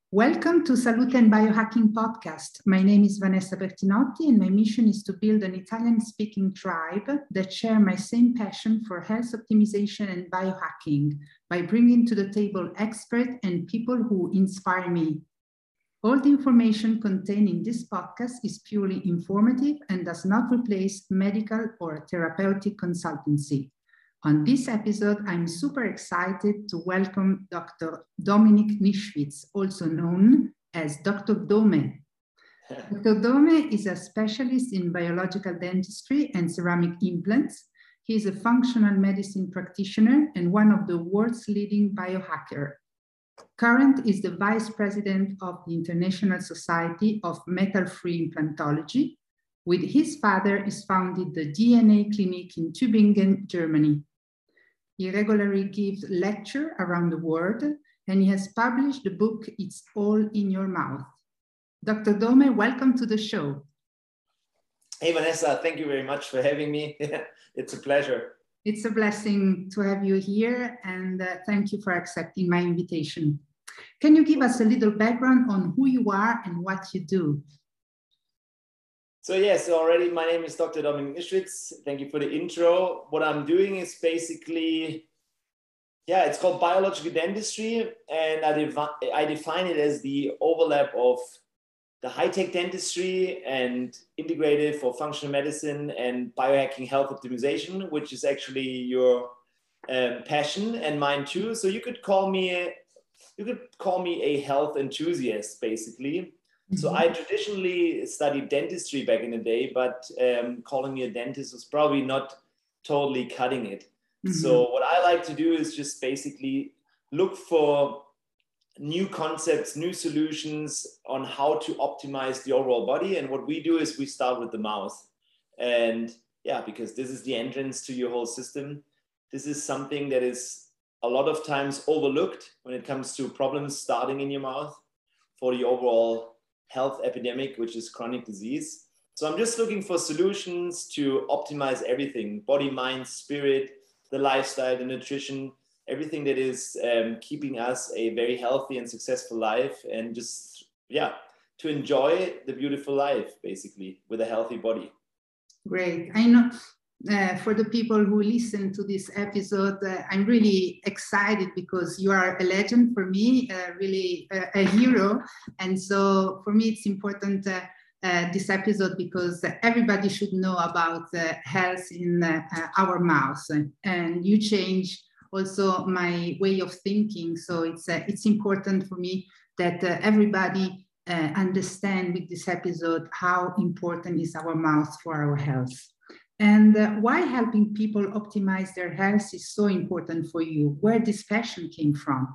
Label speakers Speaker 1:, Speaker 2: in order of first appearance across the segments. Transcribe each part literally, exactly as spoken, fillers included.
Speaker 1: Welcome to Salute and Biohacking Podcast. My name is Vanessa Bertinotti, and my mission is to build an Italian-speaking tribe that share my same passion for health optimization and biohacking by bringing to the table experts and people who inspire me. All the information contained in this podcast is purely informative and does not replace medical or therapeutic consultancy. On this episode, I'm super excited to welcome Doctor Dominik Nischwitz, also known as Doctor Dome. Doctor Dome is a specialist in biological dentistry and ceramic implants. He is a functional medicine practitioner and one of the world's leading biohackers. Current is the vice president of the International Society of Metal-Free Implantology. With his father, he founded the D N A Clinic in Tübingen, Germany. He regularly gives lectures around the world, and he has published the book, It's All in Your Mouth. Doctor Dome, welcome to the show.
Speaker 2: Hey, Vanessa, thank you very much for having me. It's a pleasure.
Speaker 1: It's a blessing to have you here, and uh, thank you for accepting my invitation. Can you give us a little background on who you are and what you do?
Speaker 2: So yes, so already my name is Doctor Dominik Nischwitz. Thank you for the intro. What I'm doing is basically, yeah, it's called biological dentistry, and I, devi- I define it as the overlap of the high-tech dentistry and integrative or functional medicine and biohacking health optimization, which is actually your um, passion and mine too. So you could call me, you could call me a health enthusiast, basically. So I traditionally studied dentistry back in the day, but um, calling me a dentist was probably not totally cutting it. Mm-hmm. So what I like to do is just basically look for new concepts, new solutions on how to optimize the overall body. And what we do is we start with the mouth. And yeah, because this is the entrance to your whole system. This is something that is a lot of times overlooked when it comes to problems starting in your mouth for the overall health epidemic, which is chronic disease. So I'm just looking for solutions to optimize everything, body, mind, spirit, the lifestyle, the nutrition, everything that is um, keeping us a very healthy and successful life, and just, yeah, to enjoy the beautiful life, basically, with a healthy body.
Speaker 1: Great. I know uh, for the people who listen to this episode, uh, I'm really excited because you are a legend for me, uh, really a, a hero. And so for me, it's important uh, uh, this episode because everybody should know about uh, health in uh, our mouths. And you change also my way of thinking. So it's, uh, it's important for me that uh, everybody uh, understand with this episode how important is our mouth for our health. And uh, why helping people optimize their health is so important for you, where this passion came from.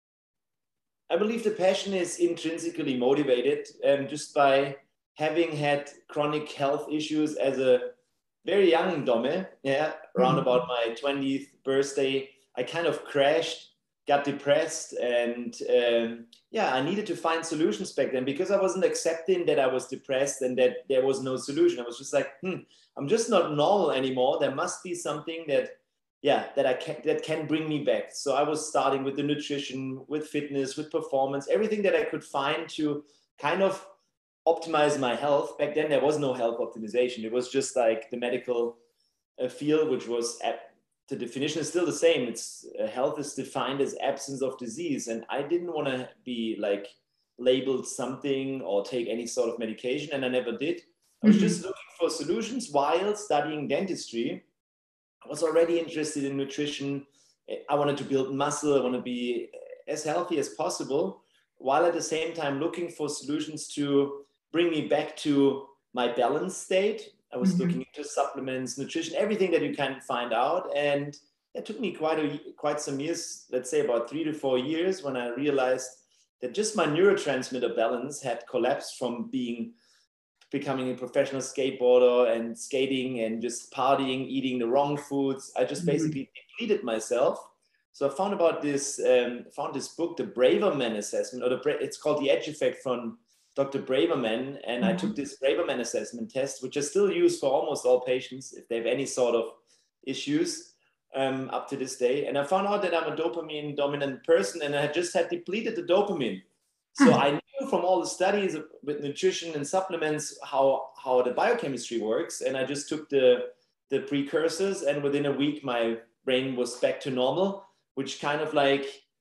Speaker 2: I believe the passion is intrinsically motivated um, just by having had chronic health issues as a very young Dome, yeah, around mm-hmm. about my twentieth birthday. I kind of crashed, got depressed, and um, yeah, I needed to find solutions back then because I wasn't accepting that I was depressed and that there was no solution. I was just like, hmm, I'm just not normal anymore. There must be something that, yeah, that I can, that can bring me back. So I was starting with the nutrition, with fitness, with performance, everything that I could find to kind of optimize my health. Back then, there was no health optimization. It was just like the medical uh, field, which was at, the definition is still the same. It's uh, health is defined as absence of disease. And I didn't want to be like labeled something or take any sort of medication. And I never did. I was mm-hmm. just looking for solutions while studying dentistry. I was already interested in nutrition. I wanted to build muscle. I want to be as healthy as possible, while at the same time looking for solutions to bring me back to my balanced state. I was mm-hmm. looking into supplements, nutrition, everything that you can find out. And it took me quite a, quite some years, let's say about three to four years, when I realized that just my neurotransmitter balance had collapsed from being, becoming a professional skateboarder and skating and just partying, eating the wrong foods. I just mm-hmm. basically depleted myself. So I found about this, um, found this book, the Braverman Assessment, or the it's called The Edge Effect from Doctor Braverman, and mm-hmm. I took this Braverman assessment test, which I still use for almost all patients if they have any sort of issues um, up to this day. And I found out that I'm a dopamine dominant person, and I just had depleted the dopamine. So I knew from all the studies with nutrition and supplements how, how the biochemistry works. And I just took the, the precursors, and within a week, my brain was back to normal, which kind of like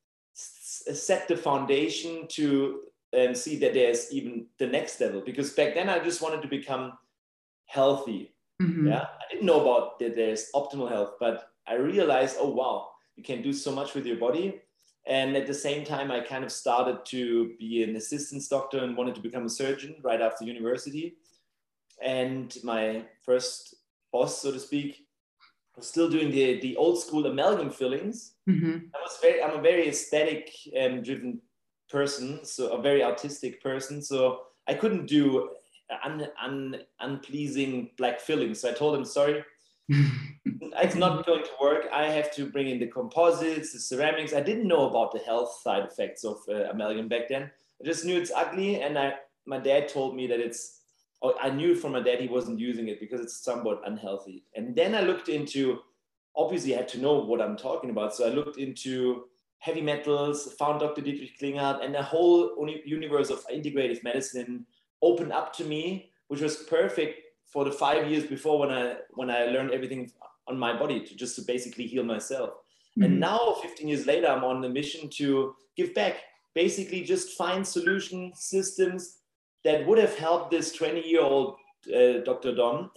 Speaker 2: set the foundation to um, see that there's even the next level. Because back then I just wanted to become healthy. Mm-hmm. Yeah, I didn't know about that there's optimal health, but I realized, oh wow, you can do so much with your body. And at the same time, I kind of started to be an assistant doctor and wanted to become a surgeon right after university. And my first boss, so to speak, was still doing the, the old school amalgam fillings. Mm-hmm. I was very, I'm a very aesthetic um, driven person, so a very artistic person. So I couldn't do un, un, unpleasing black fillings. So I told him, sorry, it's not going to work. I have to bring in the composites, the ceramics. I didn't know about the health side effects of uh, amalgam back then. I just knew it's ugly. And I, my dad told me that it's, oh, I knew from my dad he wasn't using it because it's somewhat unhealthy. And then I looked into, obviously I had to know what I'm talking about. So I looked into heavy metals, found Doctor Dietrich Klinghardt, and the whole universe of integrative medicine opened up to me, which was perfect for the five years before when I when I learned everything on my body to just to basically heal myself. Mm-hmm. And now, fifteen years later, I'm on a mission to give back, basically just find solution systems that would have helped this twenty-year-old uh, Doctor Don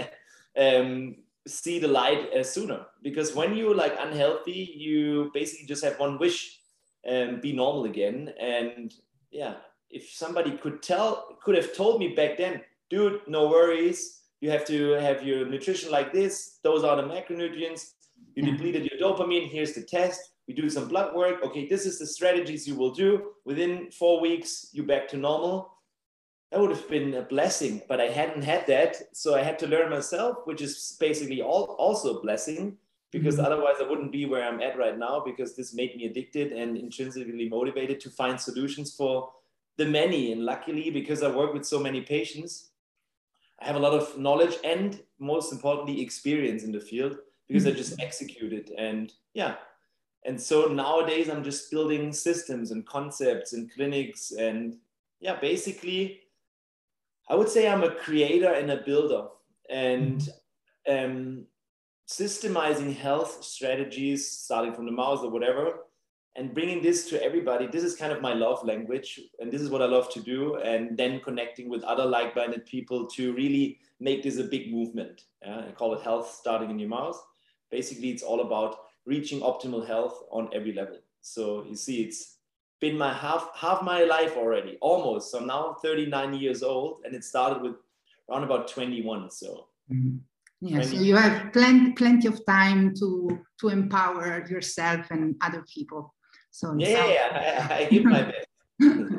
Speaker 2: um, see the light uh, sooner. Because when you're like unhealthy, you basically just have one wish, and be normal again. And yeah, if somebody could tell, could have told me back then, dude, no worries. You have to have your nutrition like this. Those are the macronutrients. You yeah. depleted your dopamine. Here's the test. We do some blood work. Okay, this is the strategies you will do. Within four weeks, you're back to normal. That would have been a blessing, but I hadn't had that. So I had to learn myself, which is basically all, also a blessing, because mm-hmm. otherwise I wouldn't be where I'm at right now, because this made me addicted and intrinsically motivated to find solutions for the many. And luckily, because I work with so many patients, I have a lot of knowledge and, most importantly, experience in the field, because mm-hmm. I just execute it. And yeah, and so nowadays I'm just building systems and concepts and clinics. And yeah, basically, I would say I'm a creator and a builder. And um, systemizing health strategies, starting from the mouse or whatever, and bringing this to everybody. This is kind of my love language, and this is what I love to do. And then connecting with other like-minded people to really make this a big movement. Yeah? I call it health starting in your mouth. Basically, it's all about reaching optimal health on every level. So you see, it's been my half half my life already, almost. So I'm now thirty-nine years old, and it started with around about twenty-one. So.
Speaker 1: Mm-hmm. Yeah, so you have plenty plenty of time to to empower yourself and other people. So
Speaker 2: yeah, yeah, I, I give my best.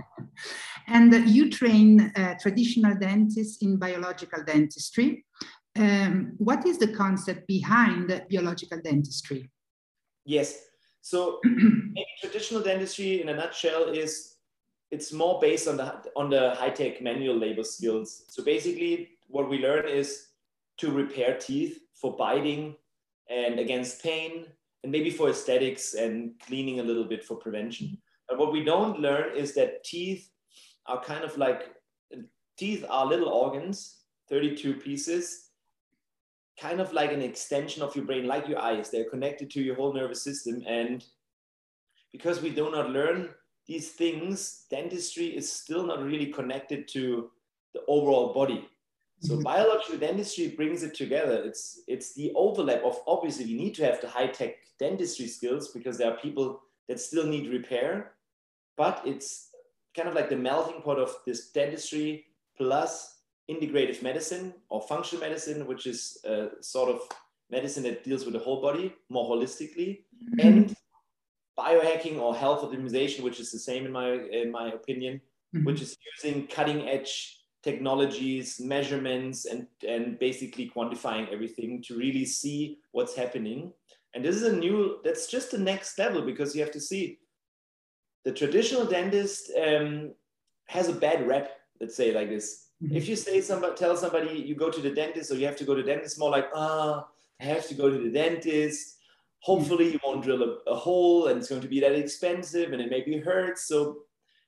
Speaker 1: And you train uh, traditional dentists in biological dentistry. Um, what is the concept behind biological dentistry?
Speaker 2: Yes, so maybe traditional dentistry in a nutshell is it's more based on the on the high-tech manual labor skills. So basically, what we learn is to repair teeth for biting and against pain, and maybe for aesthetics and cleaning a little bit for prevention. But what we don't learn is that teeth are kind of like, teeth are little organs, thirty-two pieces, kind of like an extension of your brain, like your eyes. They're connected to your whole nervous system. And because we do not learn these things, dentistry is still not really connected to the overall body. So mm-hmm. biological dentistry brings it together. It's, it's the overlap of, obviously, you need to have the high-tech dentistry skills because there are people that still need repair, but it's kind of like the melting pot of this dentistry plus integrative medicine or functional medicine, which is a sort of medicine that deals with the whole body more holistically, mm-hmm. and biohacking or health optimization, which is the same in my, in my opinion, mm-hmm. which is using cutting-edge technologies, measurements, and, and basically quantifying everything to really see what's happening. And this is a new, that's just the next level, because you have to see the traditional dentist um, has a bad rep, let's say like this. Mm-hmm. If you say somebody, tell somebody you go to the dentist or you have to go to the dentist, more like, ah, oh, I have to go to the dentist. Hopefully you won't drill a, a hole and it's going to be that expensive and it maybe hurts. So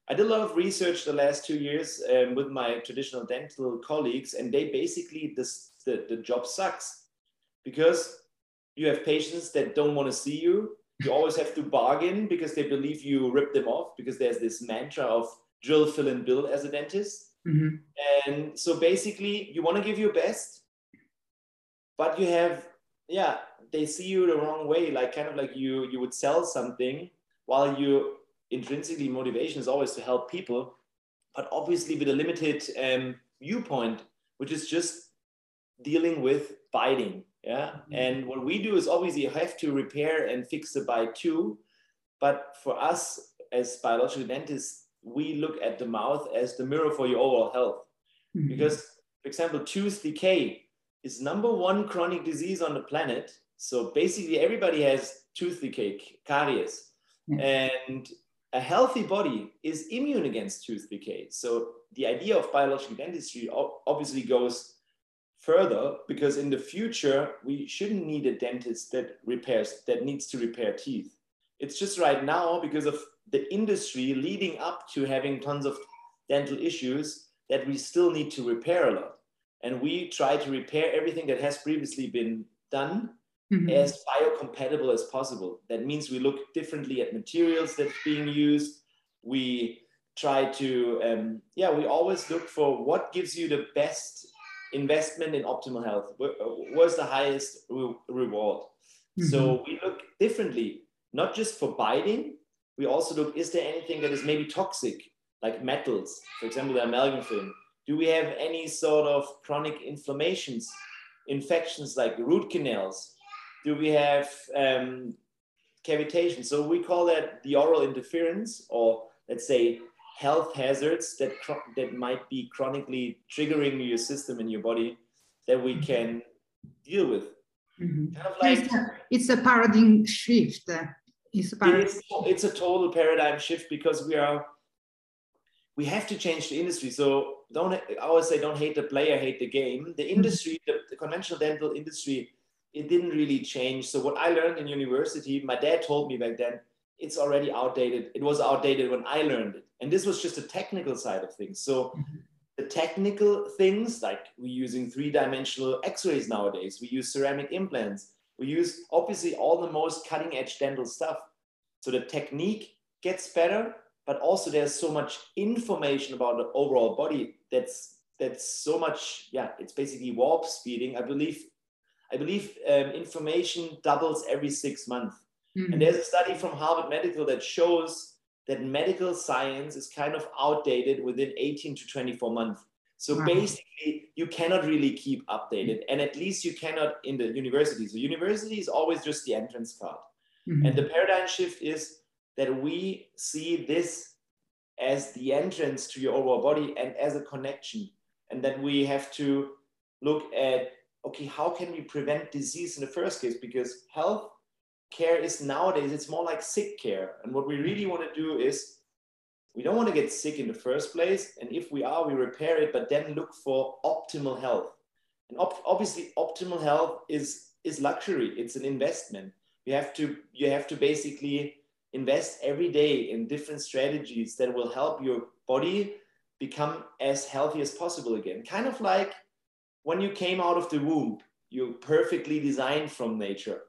Speaker 2: I did a lot of research the last two years um, with my traditional dental colleagues, and they basically, this, the, the job sucks because you have patients that don't want to see you. You always have to bargain because they believe you rip them off, because there's this mantra of drill, fill, and bill as a dentist. Mm-hmm. And so basically you want to give your best, but you have, yeah, they see you the wrong way, like kind of like you, you would sell something while you intrinsically motivation is always to help people, but obviously with a limited um, viewpoint, which is just dealing with biting. Yeah. Mm-hmm. And what we do is obviously you have to repair and fix the bite too. But for us as biological dentists, we look at the mouth as the mirror for your overall health. Mm-hmm. Because, for example, tooth decay is number one chronic disease on the planet. So basically everybody has tooth decay, caries. Mm-hmm. And a healthy body is immune against tooth decay. So the idea of biological dentistry obviously goes further, because in the future, we shouldn't need a dentist that repairs, that needs to repair teeth. It's just right now, because of the industry leading up to having tons of dental issues, that we still need to repair a lot. And we try to repair everything that has previously been done mm-hmm. as biocompatible as possible. That means we look differently at materials that's being used. We try to, um, yeah, we always look for what gives you the best investment in optimal health. Where's the highest re- reward? Mm-hmm. So we look differently, not just for biting. We also look, is there anything that is maybe toxic, like metals, for example, the amalgam film? Do we have any sort of chronic inflammations, infections like root canals? Do we have um, cavitation? So we call that the oral interference, or let's say health hazards that, that might be chronically triggering your system in your body that we can deal with.
Speaker 1: Mm-hmm. Kind of like, it's, a, it's a paradigm shift. It's a, paradigm.
Speaker 2: It is, it's a total paradigm shift, because we are, we have to change the industry. So don't, I always say, don't hate the player, hate the game. The industry, mm-hmm. the, the conventional dental industry, it didn't really change. So what I learned in university, my dad told me back then, it's already outdated. It was outdated when I learned it. And this was just the technical side of things. So mm-hmm. the technical things, like we're using three-dimensional x-rays nowadays, we use ceramic implants, we use obviously all the most cutting edge dental stuff. So the technique gets better, but also there's so much information about the overall body that's that's so much, yeah, it's basically warp speeding. I believe, I believe um, information doubles every six months. Mm-hmm. And there's a study from Harvard Medical that shows that medical science is kind of outdated within eighteen to twenty-four months. So wow. basically, you cannot really keep updated. And at least you cannot in the university. So university is always just the entrance card. Mm-hmm. And the paradigm shift is that we see this as the entrance to your overall body and as a connection. And that we have to look at, okay, how can we prevent disease in the first case? Because health care is nowadays, it's more like sick care. And what we really want to do is, we don't want to get sick in the first place. And if we are, we repair it, but then look for optimal health. And op- obviously optimal health is, is luxury. It's an investment. You have to, you have to basically invest every day in different strategies that will help your body become as healthy as possible again. Kind of like when you came out of the womb, you're perfectly designed from nature.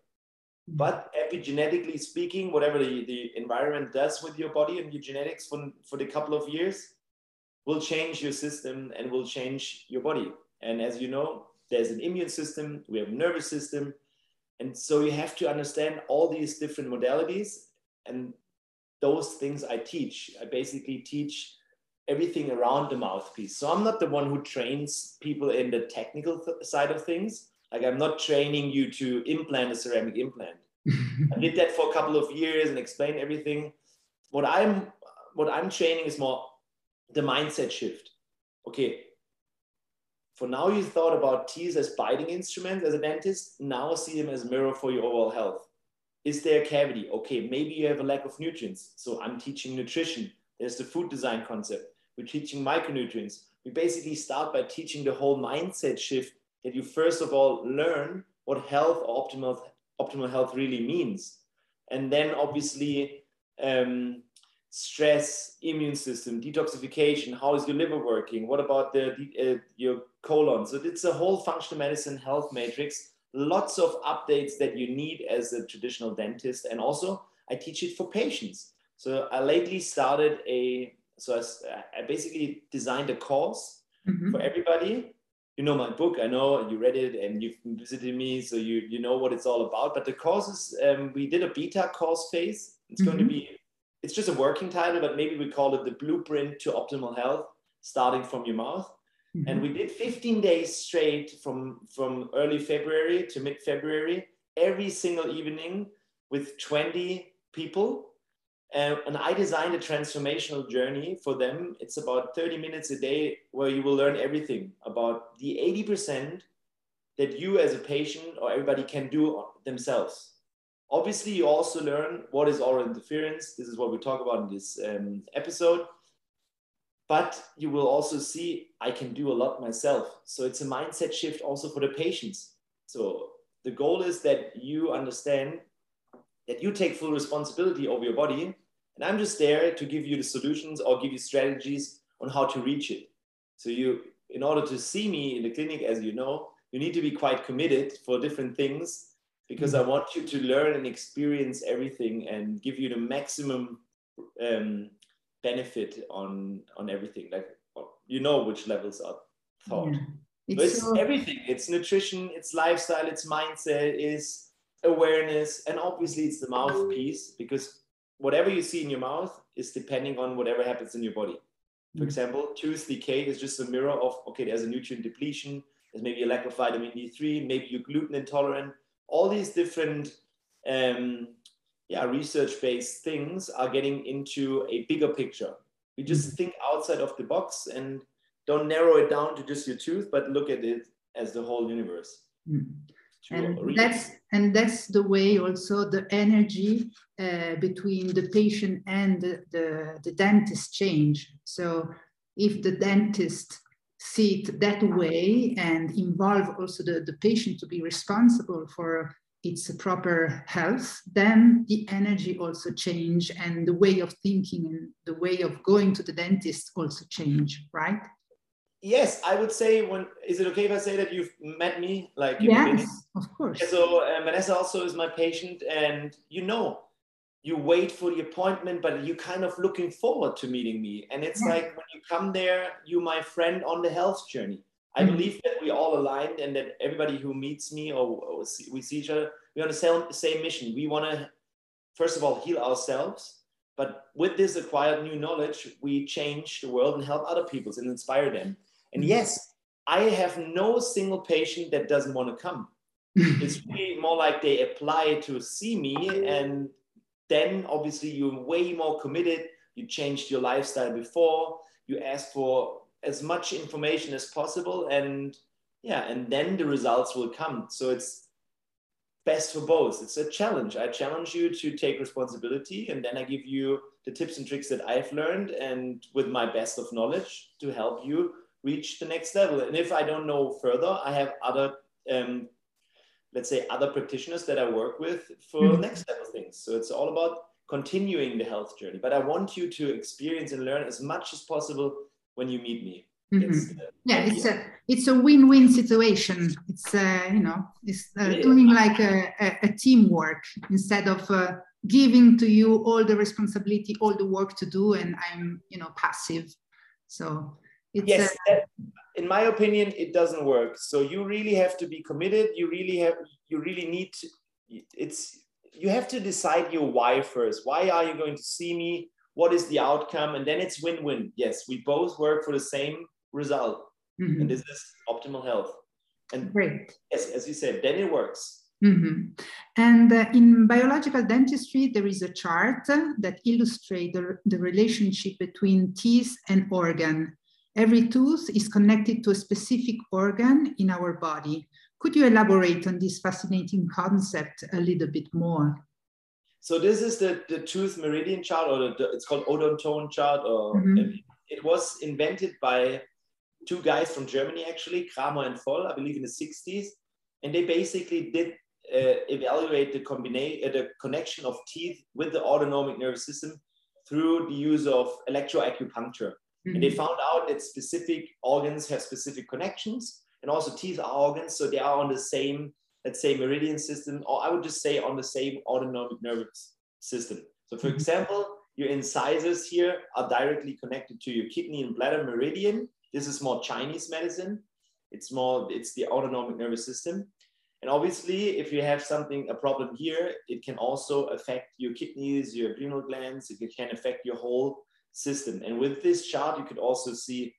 Speaker 2: But epigenetically speaking, whatever the, the environment does with your body and your genetics for, for the couple of years will change your system and will change your body. And as you know, there's an immune system, we have a nervous system. And so you have to understand all these different modalities, and those things I teach. I basically teach everything around the mouthpiece. So I'm not the one who trains people in the technical th- side of things. Like I'm not training you to implant a ceramic implant. I did that for a couple of years and explained everything. What I'm, what I'm training is more the mindset shift. Okay, for now you thought about teeth as biting instruments as a dentist. Now see them as a mirror for your overall health. Is there a cavity? Okay, maybe you have a lack of nutrients. So I'm teaching nutrition. There's the food design concept. We're teaching micronutrients. We basically start by teaching the whole mindset shift, that you first of all learn what health or optimal, optimal health really means. And then obviously um, stress, immune system, detoxification, how is your liver working, what about the uh, your colon. So it's a whole functional medicine health matrix, lots of updates that you need as a traditional dentist. And also I teach it for patients. So I lately started a, so I, I basically designed a course mm-hmm. for everybody. You know my book, I know you read it and you've visited me, so you you know what it's all about. But the courses, um, we did a beta course phase. It's mm-hmm. going to be, it's just a working title, but maybe we call it the Blueprint to Optimal Health, starting from your mouth. Mm-hmm. And we did fifteen days straight from, from early February to mid-February, every single evening with twenty people. Uh, and I designed a transformational journey for them. It's about thirty minutes a day where you will learn everything about the eighty percent that you as a patient or everybody can do themselves. Obviously, you also learn what is oral interference. This is what we talk about in this um, episode. But you will also see I can do a lot myself. So it's a mindset shift also for the patients. So the goal is that you understand that you take full responsibility over your body. And I'm just there to give you the solutions or give you strategies on how to reach it. So you, in order to see me in the clinic, as you know, you need to be quite committed for different things, because I want you to learn and experience everything and give you the maximum um, benefit on, on everything. Like, you know which levels are taught. Yeah. It's, it's so... everything. It's nutrition, it's lifestyle, it's mindset, it's awareness, and obviously it's the mouthpiece, because whatever you see in your mouth is depending on whatever happens in your body. For example, tooth decay is just a mirror of, okay, there's a nutrient depletion, there's maybe a lack of vitamin D three, maybe you're gluten intolerant. All these different um, yeah, research-based things are getting into a bigger picture. We just think outside of the box and don't narrow it down to just your tooth, but look at it as the whole universe. Mm.
Speaker 1: And that's, and that's the way also the energy uh, between the patient and the, the, the dentist change. So if the dentist see it that way and involve also the, the patient to be responsible for its proper health, then the energy also change, and the way of thinking and the way of going to the dentist also change, right?
Speaker 2: Yes, I would say, when, is it okay if I say that you've met me? Like,
Speaker 1: yes, of course.
Speaker 2: Yeah, so uh, Vanessa also is my patient, and you know, you wait for the appointment, but you're kind of looking forward to meeting me. And it's yeah. like, when you come there, you're my friend on the health journey. I mm-hmm. believe that we're all aligned, and that everybody who meets me or, or see, we see each other, we're on the same, same mission. We want to, first of all, heal ourselves. But with this acquired new knowledge, we change the world and help other people and inspire them. And yes, I have no single patient that doesn't want to come. It's really more like they apply to see me, and then obviously you're way more committed. You changed your lifestyle before, you ask for as much information as possible, and yeah, and then the results will come. So it's best for both. It's a challenge. I challenge you to take responsibility, and then I give you the tips and tricks that I've learned, and with my best of knowledge to help you reach the next level. And if I don't know further, I have other, um, let's say, other practitioners that I work with for mm-hmm. next level things. So it's all about continuing the health journey. But I want you to experience and learn as much as possible when you meet me.
Speaker 1: Mm-hmm. Yeah, idea. it's a it's a win-win situation. It's uh, you know, it's uh, yeah. doing like a, a, a teamwork instead of uh, giving to you all the responsibility, all the work to do, and I'm you know passive. So. It's
Speaker 2: yes,
Speaker 1: a,
Speaker 2: that, in my opinion, it doesn't work. So you really have to be committed. You really have, you really need to, it's, you have to decide your why first. Why are you going to see me? What is the outcome? And then it's win-win. Yes, we both work for the same result. Mm-hmm. And this is optimal health. And
Speaker 1: great.
Speaker 2: Yes, as you said, then it works.
Speaker 1: Mm-hmm. And uh, in biological dentistry, there is a chart that illustrates the, the relationship between teeth and organ. Every tooth is connected to a specific organ in our body. Could you elaborate on this fascinating concept a little bit more?
Speaker 2: So this is the, the tooth meridian chart, or the, it's called odontone chart. Or mm-hmm. it, it was invented by two guys from Germany, actually, Kramer and Voll, I believe in the sixties. And they basically did uh, evaluate the, combina- uh, the connection of teeth with the autonomic nervous system through the use of electroacupuncture.
Speaker 1: Mm-hmm.
Speaker 2: And they found out that specific organs have specific connections, and also teeth are organs, so they are on the same, let's say, meridian system, or I would just say on the same autonomic nervous system. So for mm-hmm. example, your incisors here are directly connected to your kidney and bladder meridian. This is more Chinese medicine. It's more, it's the autonomic nervous system. And obviously, if you have something, a problem here, it can also affect your kidneys, your adrenal glands. It can affect your whole system. And with this chart, you could also see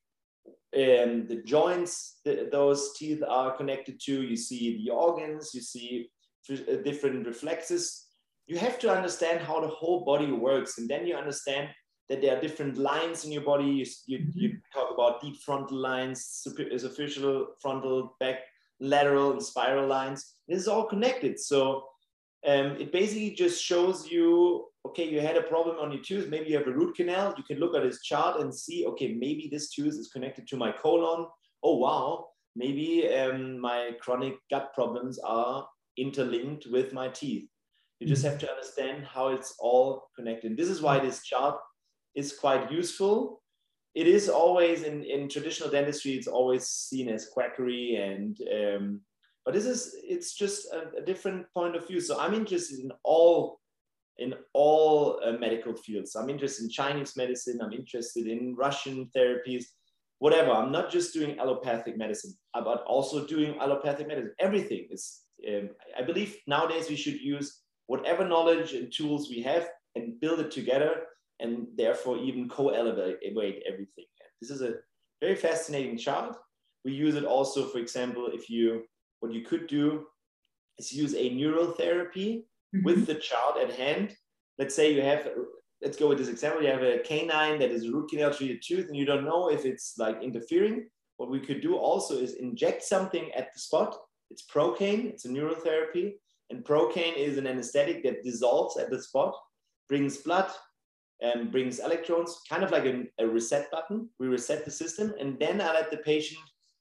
Speaker 2: um, the joints that those teeth are connected to. You see the organs, you see different reflexes. You have to understand how the whole body works. And then you understand that there are different lines in your body. You, you, you talk about deep frontal lines, superficial frontal, back, lateral and spiral lines. This is all connected. So um, it basically just shows you, okay, you had a problem on your tooth. Maybe you have a root canal. You can look at this chart and see, okay, maybe this tooth is connected to my colon. Oh, wow. Maybe um, my chronic gut problems are interlinked with my teeth. You just have to understand how it's all connected. This is why this chart is quite useful. It is always in, in traditional dentistry, it's always seen as quackery, and um, but this is, it's just a, a different point of view. So I'm interested in all in all uh, medical fields. I'm interested in Chinese medicine. I'm interested in Russian therapies, whatever. I'm not just doing allopathic medicine, but also doing allopathic medicine. Everything is. Um, I believe nowadays we should use whatever knowledge and tools we have and build it together, and therefore even co-elevate everything. This is a very fascinating chart. We use it also, for example, if you, what you could do is use a neural therapy mm-hmm. with the chart at hand. Let's say you have, let's go with this example, you have a canine that is root canal treated tooth and you don't know if it's like interfering. What we could do also is inject something at the spot. It's Procaine, it's a neural therapy. And Procaine is an anesthetic that dissolves at the spot, brings blood, and brings electrons, kind of like a, a reset button. We reset the system, and then I let the patient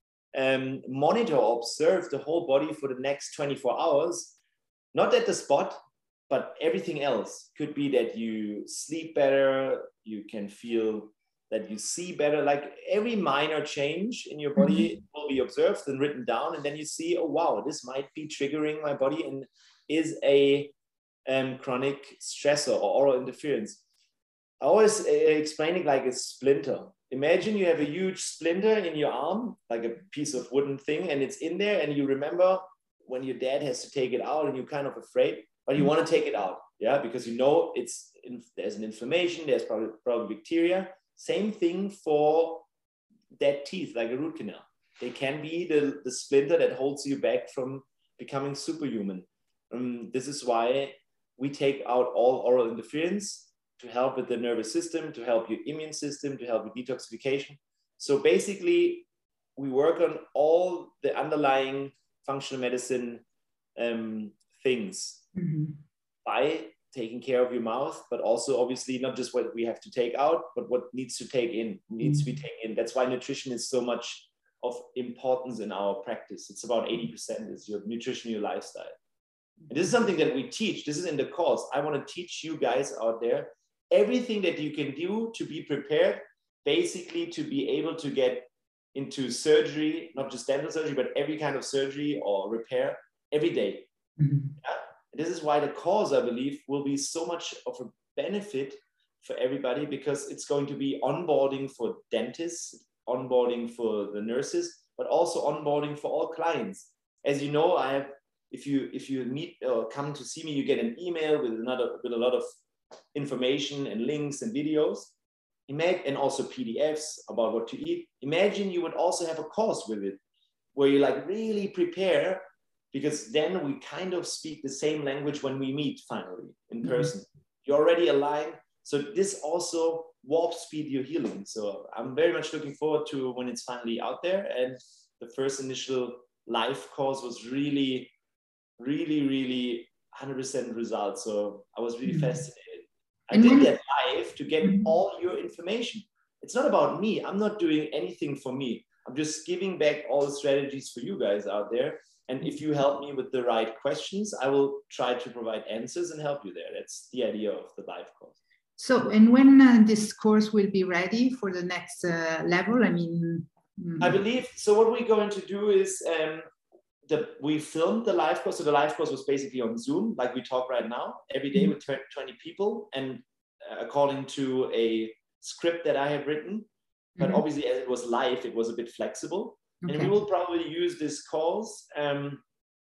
Speaker 2: um, monitor or observe the whole body for the next twenty-four hours, not at the spot, but everything else. Could be that you sleep better, you can feel that you see better, like every minor change in your body mm-hmm. will be observed and written down, and then you see, oh wow, this might be triggering my body and is a um, chronic stressor or oral interference. I always uh, explain it like a splinter. Imagine you have a huge splinter in your arm, like a piece of wooden thing, and it's in there, and you remember when your dad has to take it out and you're kind of afraid, but you want to take it out, yeah, because you know it's in, there's an inflammation, there's probably, probably bacteria. Same thing for dead teeth, like a root canal. They can be the, the splinter that holds you back from becoming superhuman. Um, this is why we take out all oral interference to help with the nervous system, to help your immune system, to help with detoxification. So basically, we work on all the underlying functional medicine um, things mm-hmm. by taking care of your mouth, but also obviously not just what we have to take out, but what needs to take in, needs mm-hmm. to be taken in. That's why nutrition is so much of importance in our practice. It's about eighty percent is your nutrition, your lifestyle. And this is something that we teach. This is in the course. I want to teach you guys out there everything that you can do to be prepared, basically to be able to get into surgery, not just dental surgery, but every kind of surgery or repair every day. Mm-hmm. Yeah? This is why the course, I believe, will be so much of a benefit for everybody, because it's going to be onboarding for dentists, onboarding for the nurses, but also onboarding for all clients. As you know, I have, if you if you meet or come to see me, you get an email with another with a lot of information and links and videos, and also P D Fs about what to eat. Imagine you would also have a course with it, where you like really prepare, because then we kind of speak the same language when we meet finally in person. Mm-hmm. You're already aligned. So this also warp speed your healing. So I'm very much looking forward to when it's finally out there. And the first initial live course was really, really, really one hundred percent results. So I was really mm-hmm. fascinated. I and did that live to get mm-hmm. all your information. It's not about me. I'm not doing anything for me. I'm just giving back all the strategies for you guys out there. And if you help me with the right questions, I will try to provide answers and help you there. That's the idea of the live course.
Speaker 1: So, and when uh, this course will be ready for the next uh, level? I mean, mm.
Speaker 2: I believe, so what we're going to do is, um, the, we filmed the live course. So the live course was basically on Zoom, like we talk right now, every day with twenty people, and uh, according to a script that I have written. But mm-hmm. obviously, as it was live, it was a bit flexible. Okay. And we will probably use this course um,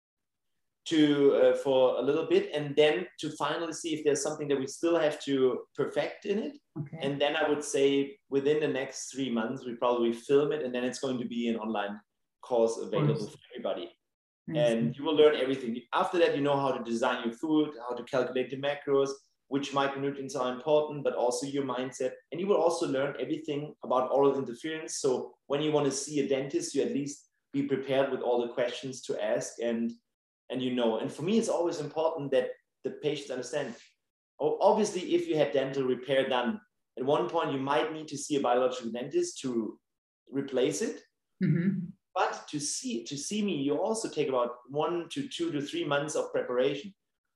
Speaker 2: to uh, for a little bit, and then to finally see if there's something that we still have to perfect in it. Okay. And then I would say within the next three months, we probably film it, and then it's going to be an online course available for everybody. And you will learn everything. After that, you know how to design your food, how to calculate the macros, which micronutrients are important, but also your mindset. And you will also learn everything about oral interference. So when you want to see a dentist, you at least be prepared with all the questions to ask, and, and you know. And for me, it's always important that the patients understand. Obviously, if you had dental repair done, at one point, you might need to see a biological dentist to replace it. Mm-hmm. But to see, to see me, you also take about one to two to three months of preparation.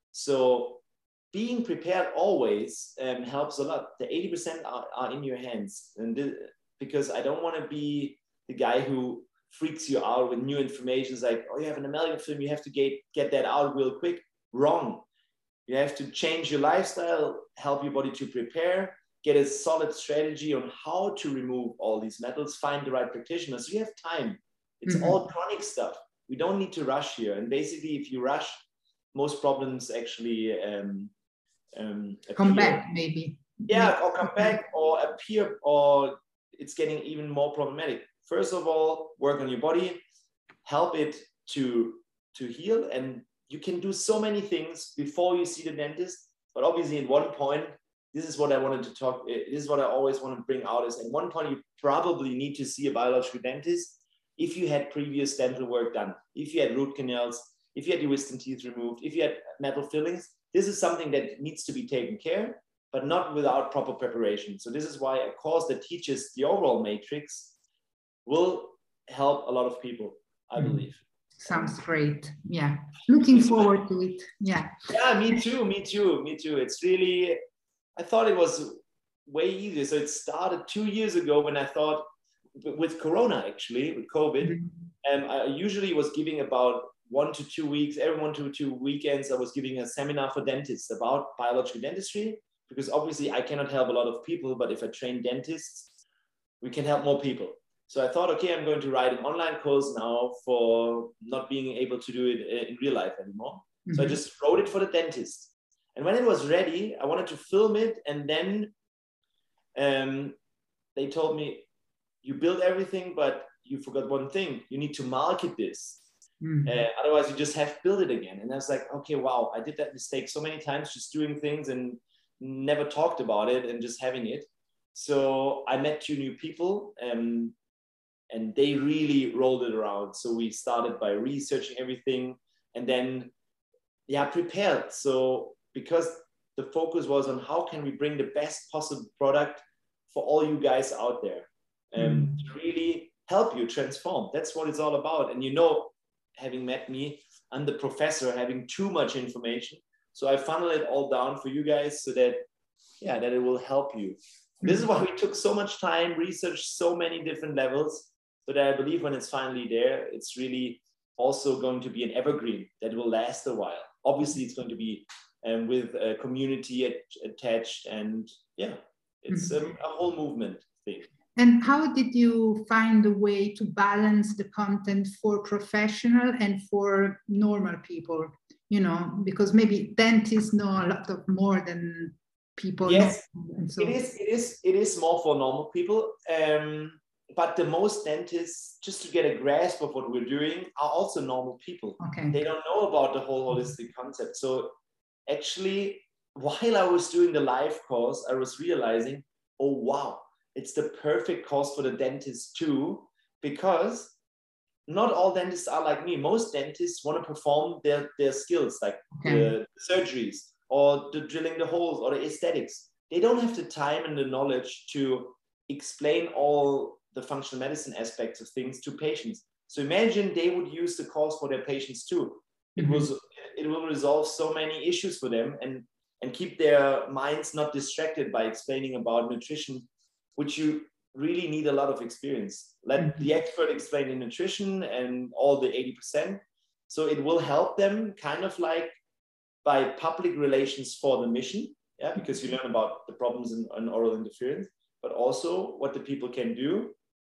Speaker 2: So being prepared always um, helps a lot. The eighty percent are, are in your hands. And this, because I don't want to be the guy who freaks you out with new information. It's like, oh, you have an amalgam film, you have to get, get that out real quick. Wrong. You have to change your lifestyle, help your body to prepare, get a solid strategy on how to remove all these metals, find the right practitioner. So you have time. It's mm-hmm. all chronic stuff. We don't need to rush here. And basically, if you rush, most problems actually um, um,
Speaker 1: come back, maybe.
Speaker 2: Yeah, maybe. Or come back or appear, or it's getting even more problematic. First of all, work on your body, help it to, to heal. And you can do so many things before you see the dentist. But obviously, at one point, this is what I wanted to talk, this is what I always want to bring out, is at one point, you probably need to see a biological dentist if you had previous dental work done, if you had root canals, if you had your wisdom teeth removed, if you had metal fillings. This is something that needs to be taken care, but not without proper preparation. So this is why a course that teaches the overall matrix will help a lot of people, I believe.
Speaker 1: Sounds great. Yeah. Looking forward to it. Yeah.
Speaker 2: Yeah, me too. Me too. Me too. It's really, I thought it was way easier. So it started two years ago when I thought, with Corona, actually, with COVID, mm-hmm. um, I usually was giving about one to two weeks, every one to two weekends, I was giving a seminar for dentists about biological dentistry, because obviously I cannot help a lot of people, but if I train dentists, we can help more people. So I thought, okay, I'm going to write an online course now for not being able to do it in real life anymore. Mm-hmm. So I just wrote it for the dentist. And when it was ready, I wanted to film it. And then um, they told me, you build everything, but you forgot one thing. You need to market this. Mm-hmm. Uh, otherwise, you just have to build it again. And I was like, okay, wow, I did that mistake so many times, just doing things and never talked about it and just having it. So I met two new people um, and they really rolled it around. So we started by researching everything and then, yeah, prepared. So because the focus was on how can we bring the best possible product for all you guys out there. Um, to really help you transform. That's what it's all about. And you know, having met me, I'm the professor having too much information. So I funnel it all down for you guys so that, yeah, that it will help you. Mm-hmm. This is why we took so much time, researched so many different levels, so that I believe when it's finally there, it's really also going to be an evergreen that will last a while. Obviously, it's going to be um, with a community at, attached, and yeah, it's mm-hmm. um, a whole movement thing.
Speaker 1: And how did you find a way to balance the content for professional and for normal people? You know, because maybe dentists know a lot of more than people.
Speaker 2: Yes,
Speaker 1: know. So,
Speaker 2: it is. It is. It is more for normal people. Um, but the most dentists, just to get a grasp of what we're doing, are also normal people.
Speaker 1: Okay.
Speaker 2: They don't know about the whole holistic concept. So actually, while I was doing the live course, I was realizing, oh wow. It's the perfect course for the dentist too, because not all dentists are like me. Most dentists want to perform their, their skills, like okay. the surgeries or the drilling the holes or the aesthetics. They don't have the time and the knowledge to explain all the functional medicine aspects of things to patients. So imagine they would use the course for their patients too. It, mm-hmm. was, it will resolve so many issues for them. And and keep their minds not distracted by explaining about nutrition, which you really need a lot of experience. Let mm-hmm. the expert explain the nutrition and all the eighty percent. So it will help them kind of like by public relations for the mission, yeah, because you learn about the problems in, in oral interference, but also what the people can do.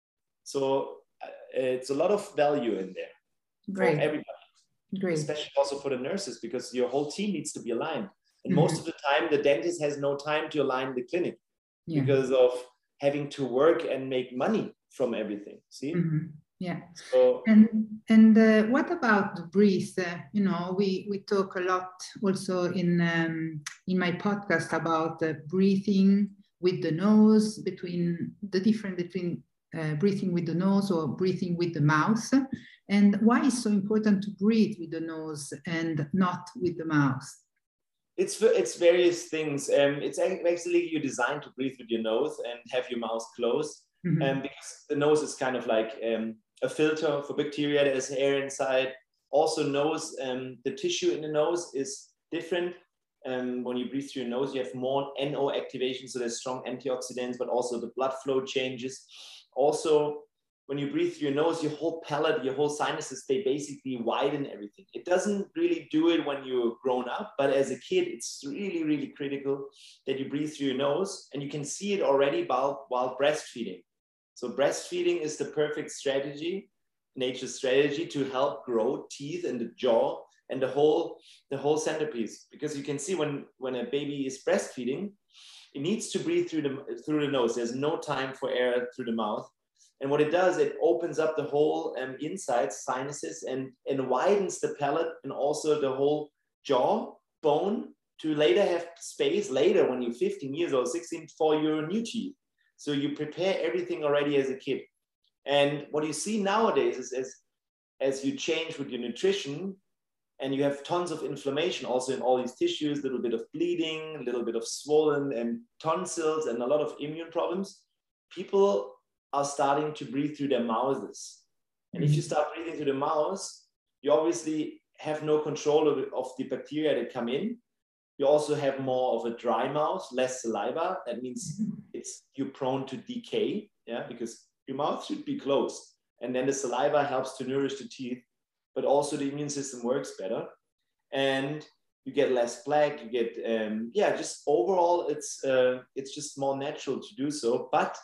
Speaker 2: So uh, it's a lot of value in there.
Speaker 1: Great.
Speaker 2: For everybody.
Speaker 1: Great.
Speaker 2: Especially also for the nurses, because your whole team needs to be aligned. And mm-hmm. most of the time, the dentist has no time to align the clinic yeah. because of having to work and make money from everything. See?
Speaker 1: Mm-hmm. Yeah.
Speaker 2: So,
Speaker 1: and and uh, what about the breath? Uh, you know, we we talk a lot also in um, in my podcast about uh, breathing with the nose, between the difference between uh, breathing with the nose or breathing with the mouth, and why it's so important to breathe with the nose and not with the mouth.
Speaker 2: It's it's various things. Um, it's actually you're designed to breathe with your nose and have your mouth closed, mm-hmm. um, because the nose is kind of like um, a filter for bacteria. There's air inside. Also, nose, um, the tissue in the nose is different. Um, when you breathe through your nose, you have more N O activation, so there's strong antioxidants, but also the blood flow changes. Also, when you breathe through your nose, your whole palate, your whole sinuses, they basically widen everything. It doesn't really do it when you're grown up, but as a kid, it's really, really critical that you breathe through your nose, and you can see it already while, while breastfeeding. So breastfeeding is the perfect strategy, nature's strategy to help grow teeth in the jaw and the whole, the whole centerpiece. Because you can see when, when a baby is breastfeeding, it needs to breathe through the, through the nose. There's no time for air through the mouth. And what it does, it opens up the whole um, insides, sinuses, and, and widens the palate and also the whole jaw bone to later have space later when you're fifteen years old, sixteen, for your new teeth. So you prepare everything already as a kid. And what you see nowadays is as, as you change with your nutrition and you have tons of inflammation also in all these tissues, a little bit of bleeding, a little bit of swollen and tonsils and a lot of immune problems, people are starting to breathe through their mouths. And if you start breathing through the mouths, you obviously have no control of, of the bacteria that come in. You also have more of a dry mouth, less saliva. That means it's you're prone to decay, yeah, because your mouth should be closed. And then the saliva helps to nourish the teeth, but also the immune system works better. And you get less plaque, you get, um, yeah, just overall, it's, uh, it's just more natural to do so. But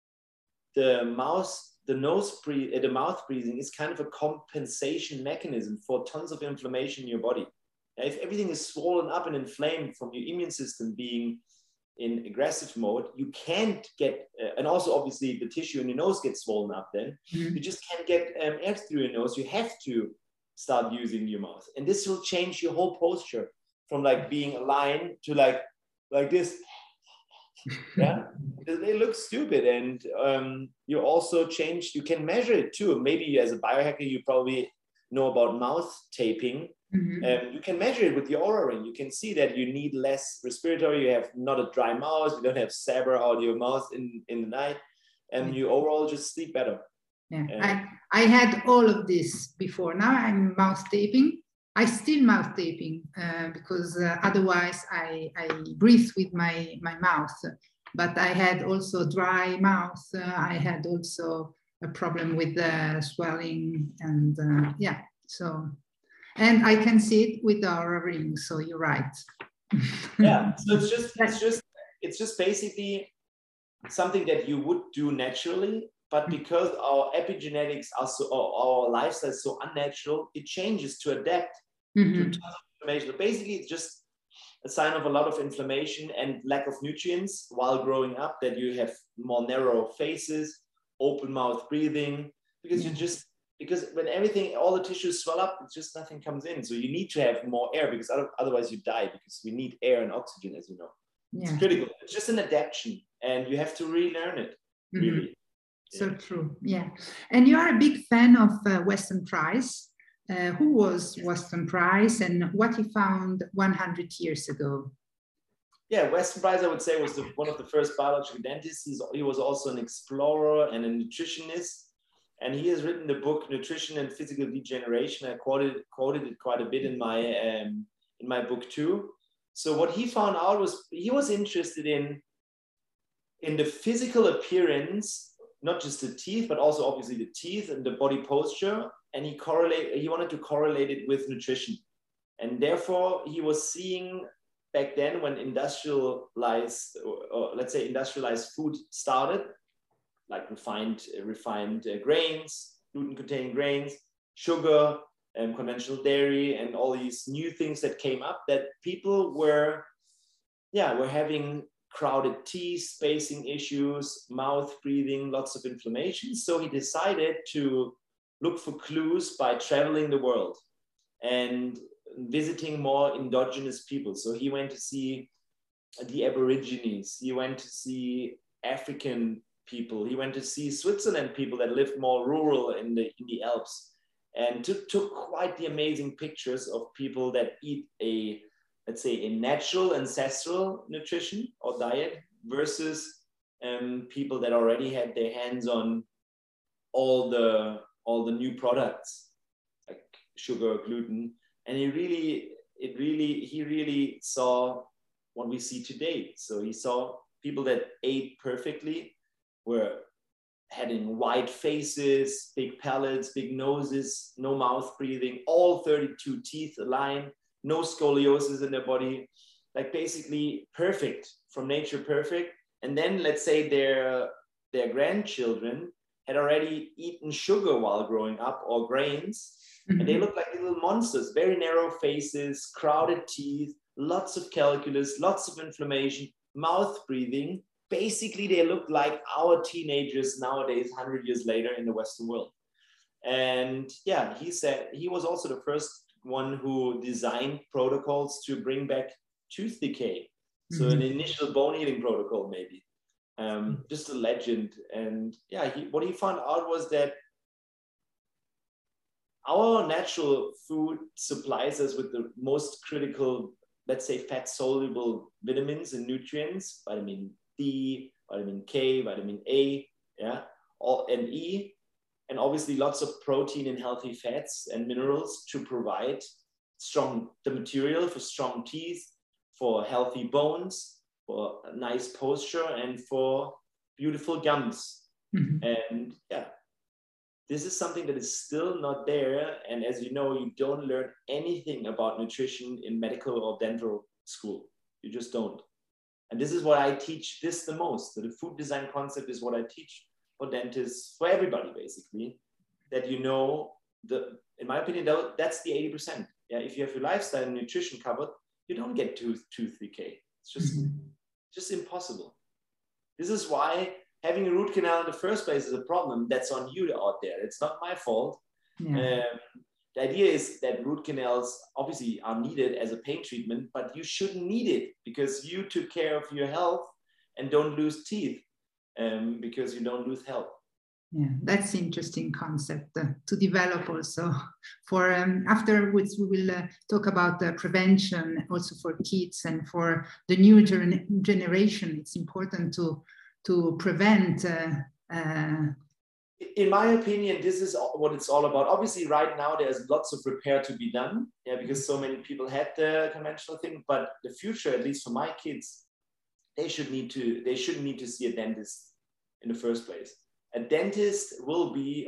Speaker 2: the mouth, the nose breathe, the mouth breathing is kind of a compensation mechanism for tons of inflammation in your body. If everything is swollen up and inflamed from your immune system being in aggressive mode, you can't get, uh, and also obviously the tissue in your nose gets swollen up then, mm-hmm. you just can't get um, air through your nose. You have to start using your mouth. And this will change your whole posture from like being aligned to like, like this. Yeah, they look stupid. And um, you also change, you can measure it too. Maybe as a biohacker, you probably know about mouth taping. Mm-hmm. Um, you can measure it with your Oura Ring. You can see that you need less respiratory. You have not a dry mouth. You don't have sabber out of your mouth in, in the night. And mm-hmm. you overall just sleep better.
Speaker 1: Yeah, um, I, I had all of this before. Now I'm mouth taping. I still mouth taping uh, because uh, otherwise I, I breathe with my, my mouth. But I had also dry mouth. Uh, I had also a problem with the swelling and uh, yeah, so. And I can see it with our ring, so you're right.
Speaker 2: Yeah, so it's just, it's just, it's just basically something that you would do naturally, but because our epigenetics are so, our lifestyle is so unnatural, it changes to adapt mm-hmm. to tons of inflammation. Basically, it's just a sign of a lot of inflammation and lack of nutrients while growing up, that you have more narrow faces, open mouth breathing, because yeah. you just, because when everything, all the tissues swell up, it's just nothing comes in. So you need to have more air, because otherwise you die, because we need air and oxygen, as you know. Yeah. It's critical. It's just an adaptation, and you have to relearn it, really.
Speaker 1: Mm-hmm. So yeah. True, yeah. And you are a big fan of uh, Weston Price. Uh, who was Weston Price and what he found one hundred years ago?
Speaker 2: Yeah, Weston Price, I would say, was the, one of the first biological dentists. He's, he was also an explorer and a nutritionist. And he has written the book Nutrition and Physical Degeneration. I quoted quoted it quite a bit in my um, in my book too. So what he found out was he was interested in, in the physical appearance, not just the teeth, but also obviously the teeth and the body posture. And he correlate, he wanted to correlate it with nutrition. And therefore he was seeing back then when industrialized, or, or let's say industrialized food started, like refined, uh, refined uh, grains, gluten-containing grains, sugar, and conventional dairy, and all these new things that came up, that people were, yeah, were having crowded teeth, spacing issues, mouth breathing, lots of inflammation. So he decided to look for clues by traveling the world and visiting more indigenous people. So he went to see the Aborigines, he went to see African people, he went to see Switzerland people that lived more rural in the, in the Alps, and took, took quite the amazing pictures of people that eat a, let's say, a natural ancestral nutrition or diet versus um, people that already had their hands on all the, all the new products like sugar, gluten. And he really, it really, he really saw what we see today. So he saw people that ate perfectly, were having white faces, big palates, big noses, no mouth breathing, all thirty-two teeth aligned, no scoliosis in their body, like basically perfect, from nature perfect. And then let's say their, their grandchildren had already eaten sugar while growing up, or grains, mm-hmm. and they look like little monsters, very narrow faces, crowded teeth, lots of calculus, lots of inflammation, mouth breathing. Basically, they look like our teenagers nowadays, one hundred years later in the Western world. And yeah, he said he was also the first one who designed protocols to bring back tooth decay. So mm-hmm. an initial bone healing protocol, maybe. Um, just a legend. And yeah, he, what he found out was that our natural food supplies us with the most critical, let's say, fat-soluble vitamins and nutrients, vitamin D, vitamin K, vitamin A, yeah, all, and E, and obviously lots of protein and healthy fats and minerals to provide strong, the material for strong teeth, for healthy bones, for a nice posture, and for beautiful gums. Mm-hmm. And yeah, this is something that is still not there. And as you know, you don't learn anything about nutrition in medical or dental school. You just don't. And this is what I teach this the most. So the food design concept is what I teach for dentists, for everybody basically, that you know, the, in my opinion, that's the eighty percent. Yeah, if you have your lifestyle and nutrition covered, you don't get tooth, tooth decay. It's just, mm-hmm. just impossible. This is why having a root canal in the first place is a problem. That's on you out there. It's not my fault. Yeah. Um, the idea is that root canals obviously are needed as a pain treatment, but you shouldn't need it because you took care of your health and don't lose teeth um, because you don't lose health.
Speaker 1: Yeah, that's an interesting concept uh, to develop also. For um, afterwards, we will uh, talk about uh, prevention also for kids and for the new gen generation. It's important to to prevent. Uh, uh,
Speaker 2: In my opinion, this is what it's all about. Obviously, right now there's lots of repair to be done, yeah, because so many people had the conventional thing. But the future, at least for my kids, they should need to. They shouldn't need to see a dentist in the first place. A dentist will be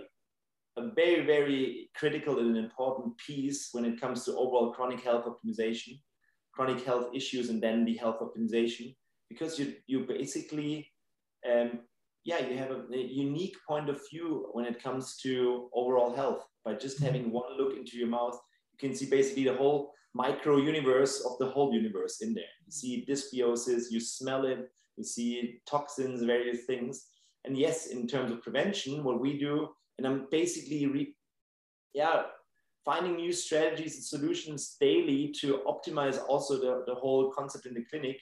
Speaker 2: a very, very critical and important piece when it comes to overall chronic health optimization, chronic health issues, and then the health optimization, because you you basically. Um, yeah, you have a, a unique point of view when it comes to overall health. By just having one look into your mouth, you can see basically the whole micro universe of the whole universe in there. You see dysbiosis, you smell it, you see toxins, various things. And yes, in terms of prevention, what we do, and I'm basically, re, yeah, finding new strategies and solutions daily to optimize also the, the whole concept in the clinic.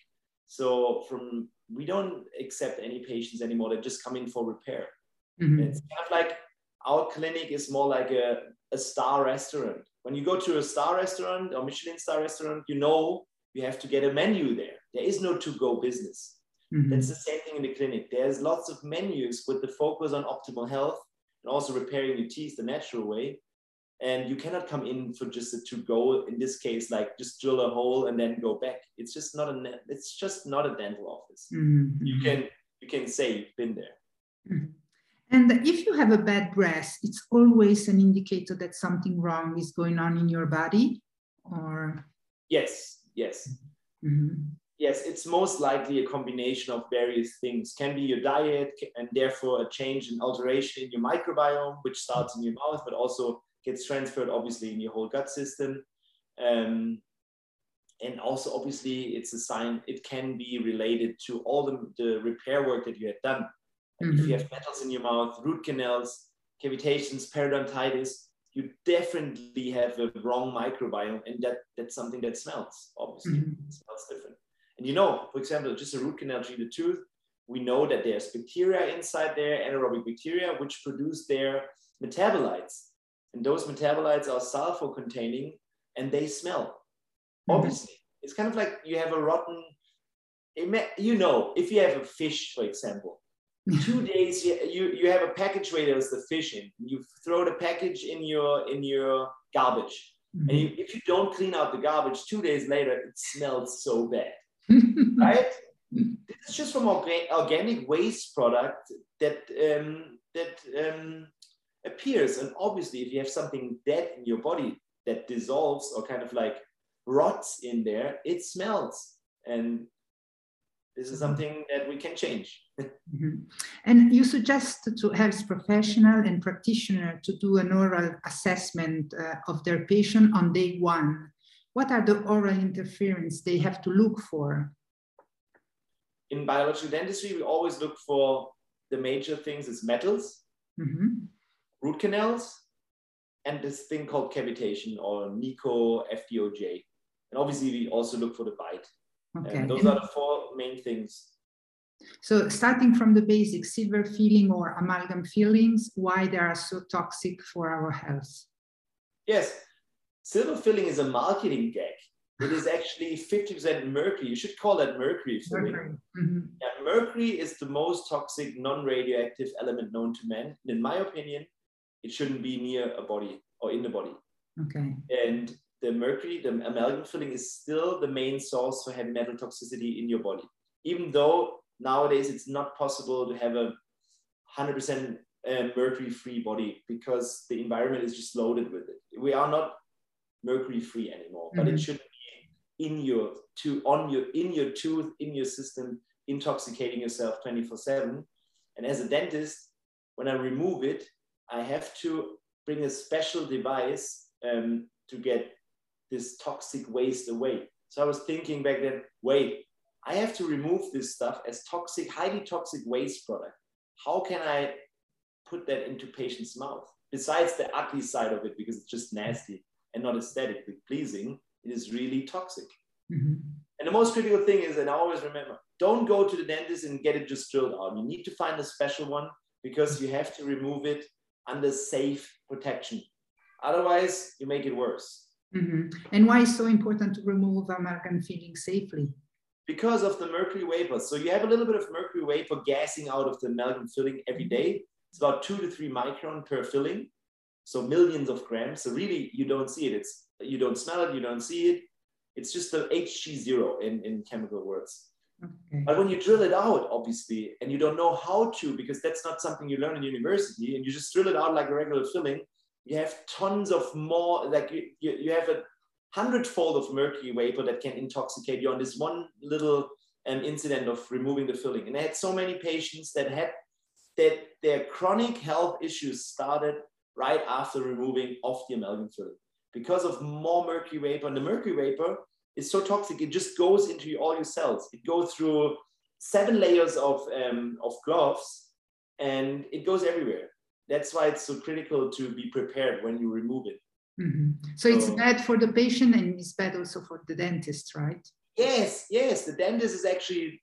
Speaker 2: So from, we don't accept any patients anymore that just come in for repair. Mm-hmm. It's kind of like our clinic is more like a, a star restaurant. When you go to a star restaurant or Michelin star restaurant, you know you have to get a menu there. There is no to-go business. Mm-hmm. That's the same thing in the clinic. There's lots of menus with the focus on optimal health and also repairing your teeth the natural way. And you cannot come in for just a to go, in this case, like just drill a hole and then go back. It's just not a, it's just not a dental office. Mm-hmm. You can, you can say you've been there.
Speaker 1: Mm-hmm. And if you have a bad breath, it's always an indicator that something wrong is going on in your body, or?
Speaker 2: Yes, yes. Mm-hmm. Yes, it's most likely a combination of various things. Can be your diet and therefore a change and alteration in your microbiome, which starts in your mouth, but also gets transferred obviously in your whole gut system. Um, and also obviously it's a sign, it can be related to all the, the repair work that you had done. Mm-hmm. If you have metals in your mouth, root canals, cavitations, periodontitis, you definitely have a wrong microbiome, and that, that's something that smells, obviously. Mm-hmm. It smells different. And you know, for example, just a root canal treated tooth, we know that there's bacteria inside there, anaerobic bacteria, which produce their metabolites. And those metabolites are sulfur containing, and they smell. Mm-hmm. Obviously, it's kind of like you have a rotten, you know, if you have a fish, for example, two days you, you, you have a package where there's the fish in, you throw the package in your, in your garbage. Mm-hmm. And you, if you don't clean out the garbage, two days later, it smells so bad, right? This is just from orga organic waste product that, um, that, um, appears. And obviously if you have something dead in your body that dissolves or kind of like rots in there, it smells. And this is something that we can change.
Speaker 1: Mm-hmm. And you suggest to health professional and practitioner to do an oral assessment uh, of their patient on day one. What are the oral interference they have to look for?
Speaker 2: In biological dentistry, we always look for the major things is metals, mm-hmm. root canals, and this thing called cavitation or Nico F D O J. And obviously we also look for the bite. Okay. And those and are the four main things.
Speaker 1: So starting from the basic, silver filling or amalgam fillings, why they are so toxic for our health?
Speaker 2: Yes, silver filling is a marketing gag. It is actually fifty percent mercury. You should call that mercury filling. Mercury. Mm-hmm. Yeah, mercury is the most toxic non-radioactive element known to man. And in my opinion, it shouldn't be near a body or in the body. Okay. And the mercury, the amalgam filling is still the main source for heavy metal toxicity in your body. Even though nowadays it's not possible to have a one hundred percent uh, mercury-free body because the environment is just loaded with it. We are not mercury-free anymore, mm-hmm. but it should be in your tooth, on your, in your tooth, in your system, intoxicating yourself twenty-four seven. And as a dentist, when I remove it, I have to bring a special device um, to get this toxic waste away. So I was thinking back then, wait, I have to remove this stuff as toxic, highly toxic waste product. How can I put that into patient's mouth? Besides the ugly side of it, because it's just nasty and not aesthetically pleasing, it is really toxic. Mm-hmm. And the most critical thing is, and I always remember, don't go to the dentist and get it just drilled out. You need to find a special one because you have to remove it under safe protection. Otherwise, you make it worse.
Speaker 1: Mm-hmm. And why is it so important to remove amalgam filling safely?
Speaker 2: Because of the mercury vapor. So you have a little bit of mercury vapor gassing out of the amalgam filling every day. It's about two to three micron per filling. So millions of grams. So really, you don't see it. It's, you don't smell it, you don't see it. It's just the H G zero in, in chemical words. Okay. But when you drill it out, obviously, and you don't know how to, because that's not something you learn in university, and you just drill it out like a regular filling, you have tons of more, like you, you, you have a hundredfold of mercury vapor that can intoxicate you on this one little um, incident of removing the filling. And I had so many patients that had that their chronic health issues started right after removing off the amalgam filling because of more mercury vapor. And the mercury vapor is so toxic, it just goes into all your cells. It goes through seven layers of, um, of gloves and it goes everywhere. That's why it's so critical to be prepared when you remove it.
Speaker 1: Mm-hmm. So, so it's bad for the patient and it's bad also for the dentist, right?
Speaker 2: Yes, yes. The dentist is actually,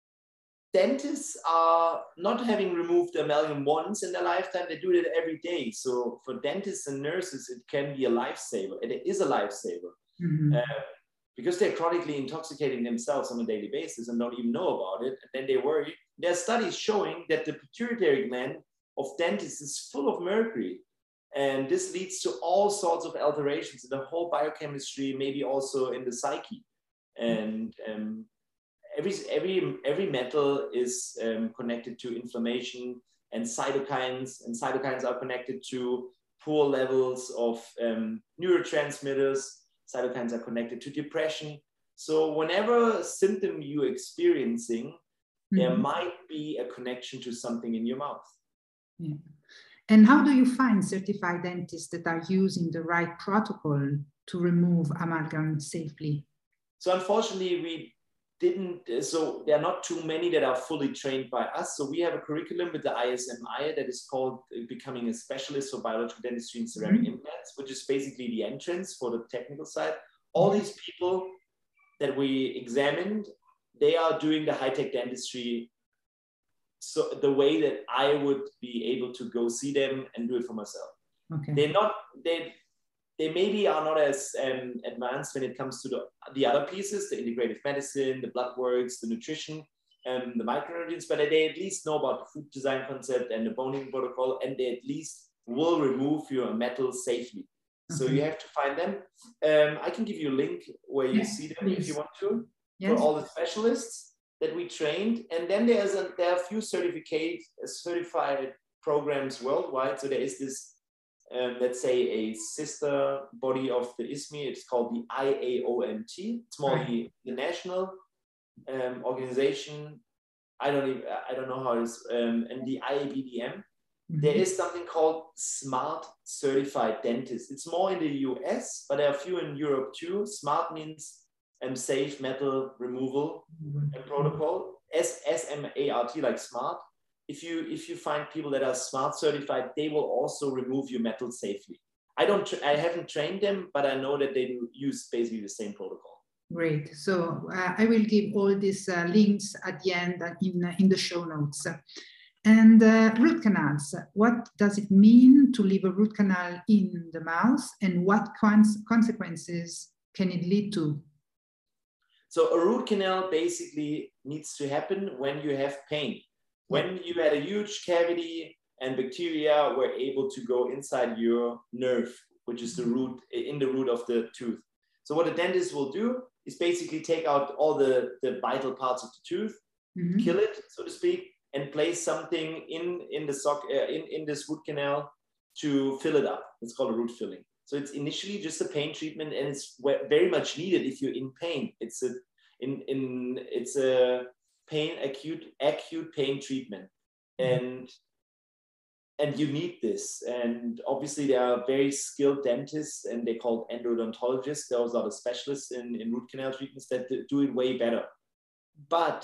Speaker 2: dentists are not having removed the amalgam once in their lifetime, they do it every day. So for dentists and nurses, it can be a lifesaver. And it is a lifesaver. Mm-hmm. uh, because they're chronically intoxicating themselves on a daily basis and don't even know about it. And then they worry. There are studies showing that the pituitary gland of dentists is full of mercury. And this leads to all sorts of alterations in the whole biochemistry, maybe also in the psyche. And um, every, every, every metal is um, connected to inflammation and cytokines, and cytokines are connected to poor levels of um, neurotransmitters. Cytokines are connected to depression. So whenever symptom you're experiencing, mm-hmm. there might be a connection to something in your mouth.
Speaker 1: Yeah. And how do you find certified dentists that are using the right protocol to remove amalgam safely?
Speaker 2: So unfortunately, we didn't, so there are not too many that are fully trained by us. So we have a curriculum with the I S M I that is called Becoming a Specialist for Biological Dentistry and Ceramic mm-hmm. Implants, which is basically the entrance for the technical side. All these people that we examined, they are doing the high-tech dentistry so the way that I would be able to go see them and do it for myself.
Speaker 1: Okay.
Speaker 2: They're not, they, they maybe are not as um, advanced when it comes to the, the other pieces, the integrative medicine, the blood works, the nutrition, um, the micronutrients, but they at least know about the food design concept and the boning protocol, and they at least will remove your metal safely. So okay. you have to find them. Um, I can give you a link where you yes, see them please. If you want to, yes. for all the specialists that we trained. And then there's a, there are a few certificate, certified programs worldwide. So there is this, um, let's say, a sister body of the I S M I. It's called the I A O M T. It's more right. the, the national um, organization. I don't even, I don't know how it is. Um, and the I A B D M. Mm-hmm. There is something called SMART Certified Dentist. It's more in the U S, but there are a few in Europe too. SMART means um, safe metal removal mm-hmm. and protocol. S M A R T, like SMART. If you if you find people that are SMART certified, they will also remove your metal safely. I don't. I haven't trained them, but I know that they use basically the same protocol.
Speaker 1: Great. So uh, I will give all these uh, links at the end in uh, in the show notes. And uh, root canals, what does it mean to leave a root canal in the mouth, and what cons consequences can it lead to?
Speaker 2: So a root canal basically needs to happen when you have pain. When you had a huge cavity and bacteria were able to go inside your nerve, which is the root, in the root of the tooth. So what a dentist will do is basically take out all the, the vital parts of the tooth, mm-hmm. kill it, so to speak, and place something in, in, the sock, uh, in, in this root canal to fill it up. It's called a root filling. So it's initially just a pain treatment, and it's very much needed if you're in pain. It's a, in, in, it's a pain, acute, acute pain treatment. And, and you need this. And obviously there are very skilled dentists, and they're called endodontologists. Those are the specialists in, in root canal treatments that do it way better. But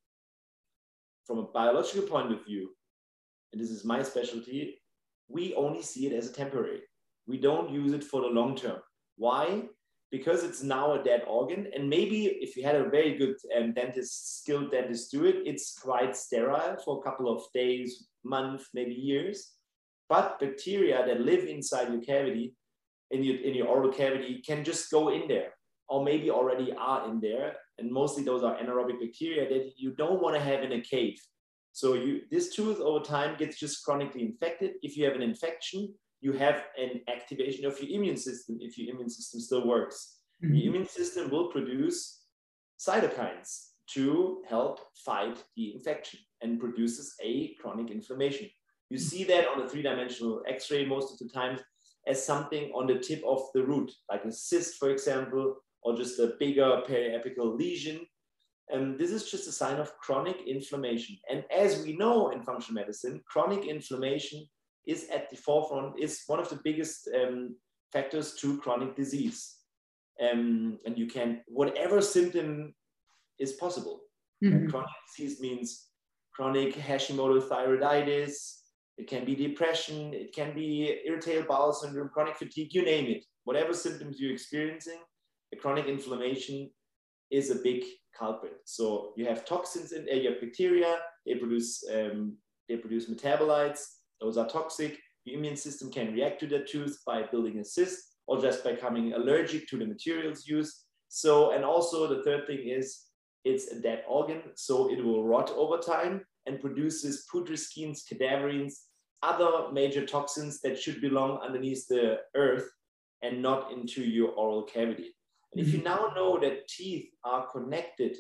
Speaker 2: from a biological point of view, and this is my specialty, we only see it as a temporary. We don't use it for the long term. Why? Because it's now a dead organ, and maybe if you had a very good um, dentist, skilled dentist do it, it's quite sterile for a couple of days, months, maybe years. But bacteria that live inside your cavity, in your, in your oral cavity, can just go in there, or maybe already are in there. And mostly those are anaerobic bacteria that you don't want to have in a cave. So you, this tooth over time gets just chronically infected. If you have an infection, you have an activation of your immune system if your immune system still works. Mm-hmm. The immune system will produce cytokines to help fight the infection and produces a chronic inflammation. You see that on a three-dimensional X-ray most of the time as something on the tip of the root, like a cyst, for example, or just a bigger periapical lesion. And this is just a sign of chronic inflammation. And as we know in functional medicine, chronic inflammation is at the forefront, is one of the biggest um, factors to chronic disease. Um, and you can, whatever symptom is possible. Mm-hmm. Chronic disease means chronic Hashimoto thyroiditis, it can be depression, it can be irritable bowel syndrome, chronic fatigue, you name it. Whatever symptoms you're experiencing, a chronic inflammation is a big culprit. So you have toxins in, uh, you have bacteria, they produce, um, they produce metabolites, those are toxic. Your immune system can react to the tooth by building a cyst or just by becoming allergic to the materials used. So, and also the third thing is it's a dead organ, so it will rot over time and produces putrescines, cadaverines, other major toxins that should belong underneath the earth and not into your oral cavity. And if you now know that teeth are connected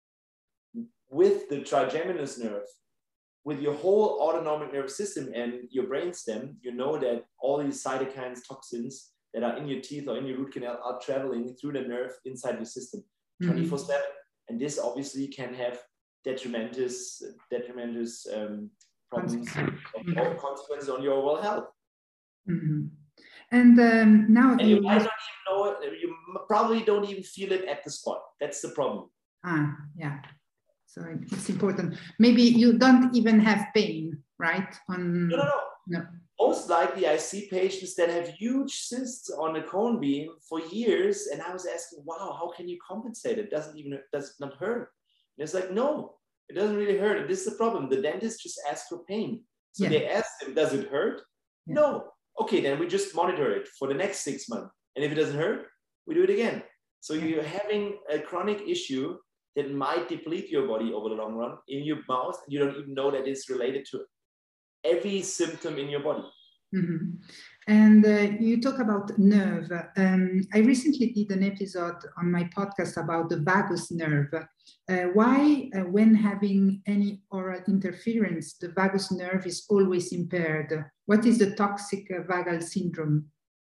Speaker 2: with the trigeminal nerve, with your whole autonomic nervous system and your brainstem, you know that all these cytokines, toxins that are in your teeth or in your root canal are traveling through the nerve inside your system twenty-four seven. And this obviously can have detrimentous, detrimentous um, problems
Speaker 1: mm-hmm.
Speaker 2: or consequences on your overall health.
Speaker 1: Mm-hmm. And um, now
Speaker 2: and you might not even know it. You probably don't even feel it at the spot. That's the problem.
Speaker 1: Ah, yeah. So it's important. Maybe you don't even have pain, right? On
Speaker 2: no, no, no.
Speaker 1: no.
Speaker 2: Most likely, I see patients that have huge cysts on the cone beam for years, and I was asking, "Wow, how can you compensate? It doesn't even does not hurt." And it's like, no, it doesn't really hurt. And this is the problem. The dentist just asked for pain, so yeah. They asked him, "Does it hurt?" Yeah. No. Okay, then we just monitor it for the next six months, and if it doesn't hurt, we do it again. So yeah. You're having a chronic issue that might deplete your body over the long run in your mouth, and you don't even know that it's related to every symptom in your body.
Speaker 1: Mm-hmm. And uh, you talk about nerve. Um, I recently did an episode on my podcast about the vagus nerve. Uh, why, uh, when having any oral interference, the vagus nerve is always impaired? What is the toxic uh, vagal syndrome?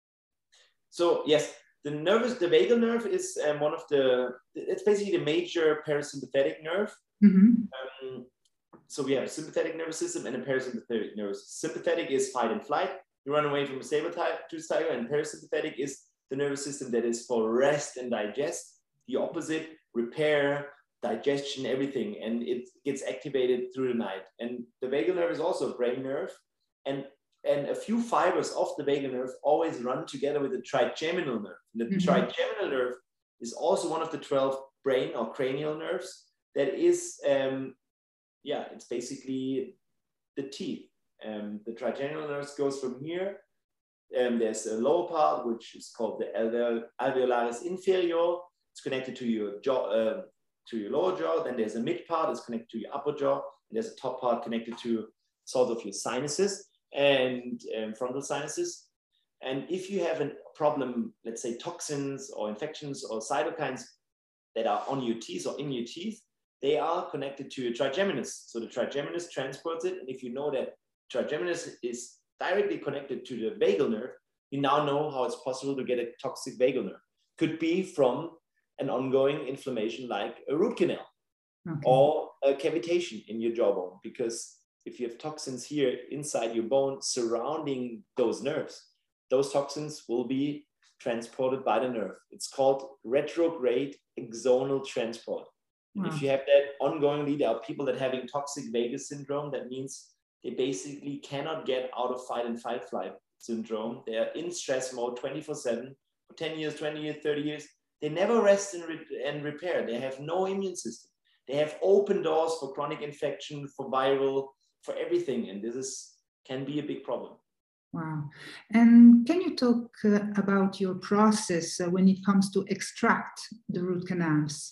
Speaker 2: So yes, the nervous, the vagal nerve is um, one of the, it's basically the major parasympathetic nerve. Mm-hmm. Um, so we have a sympathetic nervous system and a parasympathetic nervous system. Sympathetic is fight and flight. You run away from a saber-tooth tiger, and parasympathetic is the nervous system that is for rest and digest. The opposite, repair, digestion, everything. And it gets activated through the night. And the vagal nerve is also a brain nerve. And, and a few fibers of the vagal nerve always run together with the trigeminal nerve. And the mm-hmm. trigeminal nerve is also one of the twelve brain or cranial nerves that is, um, yeah, it's basically the teeth. Um, the trigeminal nerve goes from here. Um, there's a lower part, which is called the alveol alveolaris inferior. It's connected to your jaw, uh, to your lower jaw. Then there's a mid part, it's connected to your upper jaw. And there's a top part connected to sort of your sinuses and um, frontal sinuses. And if you have a problem, let's say toxins or infections or cytokines that are on your teeth or in your teeth, they are connected to your trigeminus. So the trigeminus transports it. And if you know that trigeminus is directly connected to the vagal nerve, you now know how it's possible to get a toxic vagal nerve. Could be from an ongoing inflammation like a root canal okay. or a cavitation in your jawbone. Because if you have toxins here inside your bone surrounding those nerves, those toxins will be transported by the nerve. It's called retrograde axonal transport. Wow. If you have that ongoingly, there are people that are having toxic vagus syndrome. That means they basically cannot get out of fight and fight flight syndrome. They are in stress mode twenty-four seven for ten years, twenty years, thirty years. They never rest and, re- and repair. They have no immune system. They have open doors for chronic infection, for viral, for everything. And this is can be a big problem.
Speaker 1: Wow. And can you talk uh, about your process uh, when it comes to extract the root canals?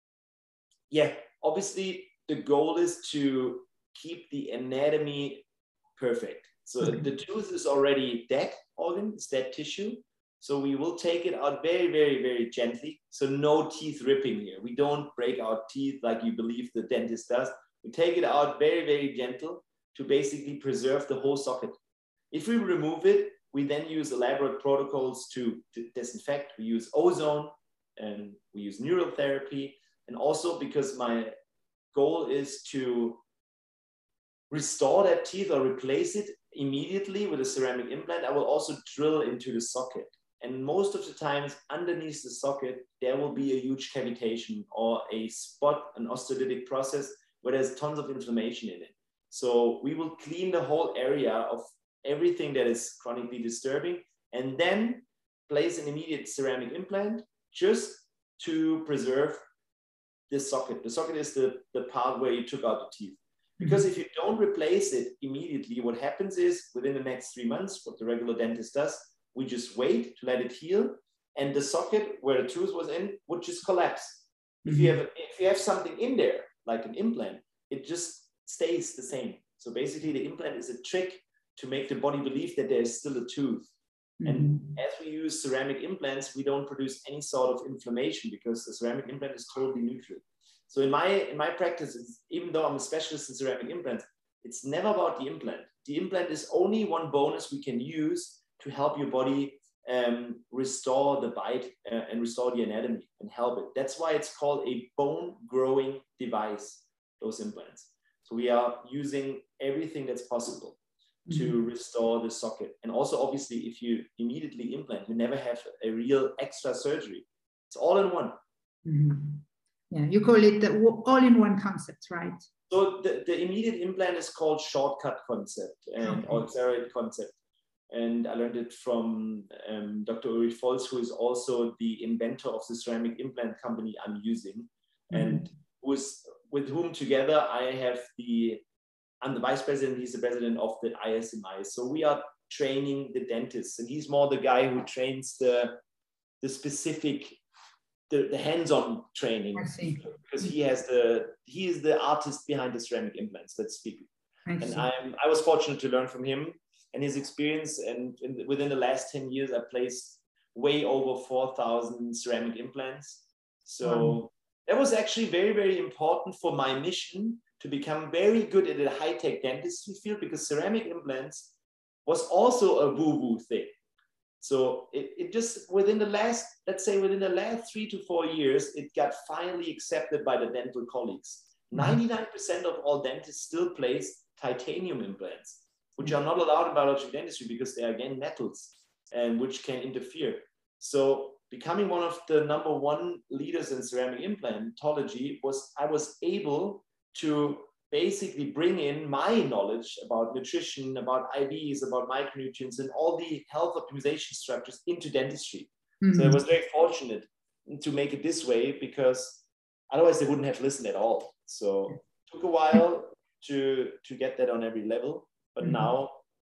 Speaker 2: Yeah, obviously the goal is to keep the anatomy perfect. So okay. the tooth is already dead organ, it's dead tissue. So we will take it out very, very, very gently. So no teeth ripping here. We don't break our teeth like you believe the dentist does. We take it out very, very gentle to basically preserve the whole socket. If we remove it, we then use elaborate protocols to, to disinfect. We use ozone and we use neural therapy. And also because my goal is to restore that teeth or replace it immediately with a ceramic implant, I will also drill into the socket. And most of the times underneath the socket, there will be a huge cavitation or a spot, an osteolytic process where there's tons of inflammation in it. So we will clean the whole area of everything that is chronically disturbing and then place an immediate ceramic implant just to preserve the socket. The socket is the, the part where you took out the teeth. Because if you don't replace it immediately, what happens is within the next three months, what the regular dentist does, we just wait to let it heal. And the socket where the tooth was in would just collapse. Mm-hmm. If you have, if you have something in there, like an implant, it just stays the same. So basically the implant is a trick to make the body believe that there is still a tooth. Mm-hmm. And as we use ceramic implants, we don't produce any sort of inflammation because the ceramic implant is totally neutral. So in my, in my practice, even though I'm a specialist in ceramic implants, it's never about the implant. The implant is only one bonus we can use to help your body um, restore the bite uh, and restore the anatomy and help it. That's why it's called a bone growing device, those implants. So we are using everything that's possible to mm-hmm. restore the socket. And also, obviously, if you immediately implant, you never have a real extra surgery. It's all in one.
Speaker 1: Mm-hmm. Yeah, you call it the all-in-one concept, right?
Speaker 2: So the, the immediate implant is called shortcut concept and okay. or accelerated concept. And I learned it from um, Doctor Ulrich Volz, who is also the inventor of the ceramic implant company I'm using, mm-hmm. and who's, with whom together I have the, I'm the vice president, he's the president of the I S M I. So we are training the dentists, and he's more the guy who trains the, the specific, the, the hands-on training, because he has the, he is the artist behind the ceramic implants, let's speak. I and I'm, I was fortunate to learn from him and his experience, and in, within the last ten years, I placed way over four thousand ceramic implants. So wow. that was actually very, very important for my mission to become very good at the high-tech dentistry field, because ceramic implants was also a woo-woo thing. So it, it just, within the last, let's say within the last three to four years, it got finally accepted by the dental colleagues. ninety-nine percent of all dentists still place titanium implants, which are not allowed in biological dentistry because they are, again, metals, and which can interfere. So becoming one of the number one leaders in ceramic implantology was, I was able to basically bring in my knowledge about nutrition, about I Vs, about micronutrients, and all the health optimization structures into dentistry. Mm-hmm. So I was very fortunate to make it this way, because otherwise they wouldn't have listened at all. So it took a while to, to get that on every level. But mm-hmm. now,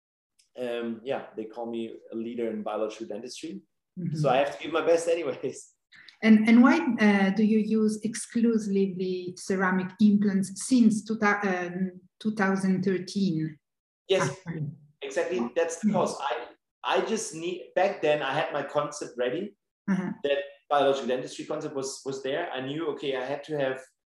Speaker 2: um, yeah, they call me a leader in biological dentistry. Mm-hmm. So I have to give my best anyways.
Speaker 1: And, and why uh, do you use exclusively ceramic implants since two thousand thirteen?
Speaker 2: Yes, actually? Exactly. That's the cause. I, I just need, back then I had my concept ready. Uh-huh. That biological dentistry concept was, was there. I knew, okay, I had to have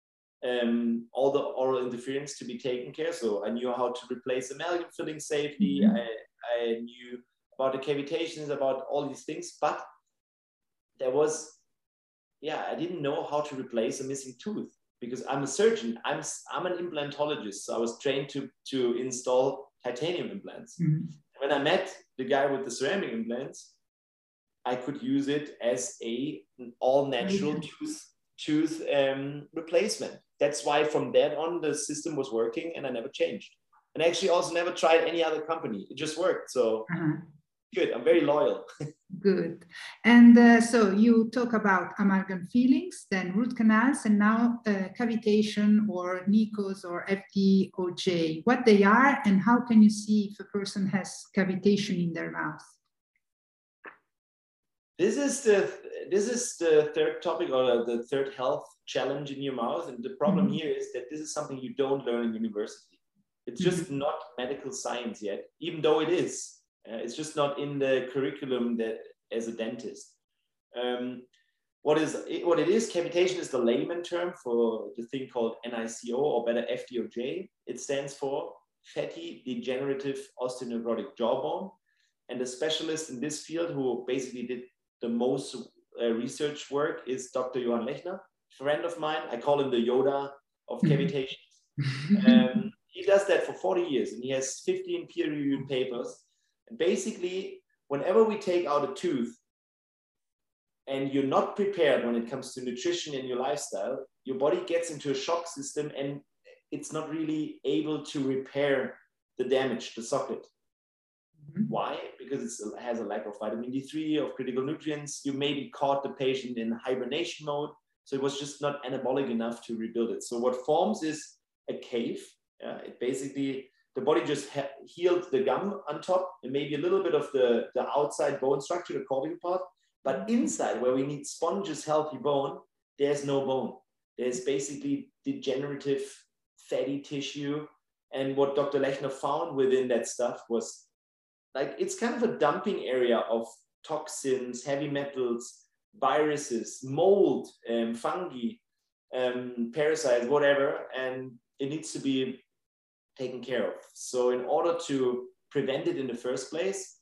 Speaker 2: um, all the oral interference to be taken care. So I knew how to replace amalgam filling safely. Mm-hmm. I, I knew about the cavitations, about all these things, but there was, yeah, I didn't know how to replace a missing tooth, because I'm a surgeon. I'm, I'm an implantologist. So I was trained to, to install titanium implants. Mm-hmm. When I met the guy with the ceramic implants, I could use it as a an all natural mm-hmm. tooth, tooth um, replacement. That's why from that on, the system was working and I never changed. And I actually also never tried any other company. It just worked. So uh-huh. Good. I'm very loyal.
Speaker 1: Good. And uh, so you talk about amalgam fillings, then root canals, and now uh, cavitation or N I C Os or F D O J. What they are, and how can you see if a person has cavitation in their mouth?
Speaker 2: This is the this is the third topic, or the third health challenge in your mouth. And the problem mm-hmm. here is that this is something you don't learn in university. It's just mm-hmm. not medical science yet, even though it is. Uh, it's just not in the curriculum that as a dentist. Um, what is what it is? Cavitation is the layman term for the thing called N I C O, or better F D O J. It stands for fatty degenerative osteonecrotic jawbone. And the specialist in this field who basically did the most uh, research work is Doctor Johann Lechner, friend of mine. I call him the Yoda of cavitation. um, he does that for forty years, and he has fifteen peer-reviewed papers. And basically, whenever we take out a tooth and you're not prepared when it comes to nutrition and your lifestyle, your body gets into a shock system and it's not really able to repair the damage, the socket. Mm-hmm. Why? Because it's, it has a lack of vitamin D three, of critical nutrients. You maybe caught the patient in hibernation mode. So it was just not anabolic enough to rebuild it. So what forms is a cave. Uh, it basically... The body just healed the gum on top and maybe a little bit of the, the outside bone structure, the cortical part. But inside, where we need sponges, healthy bone, there's no bone. There's basically degenerative fatty tissue And what Doctor Lechner found within that stuff was like, it's kind of a dumping area of toxins, heavy metals, viruses, mold, um, fungi, um, parasites, whatever, and it needs to be taken care of. So in order to prevent it in the first place,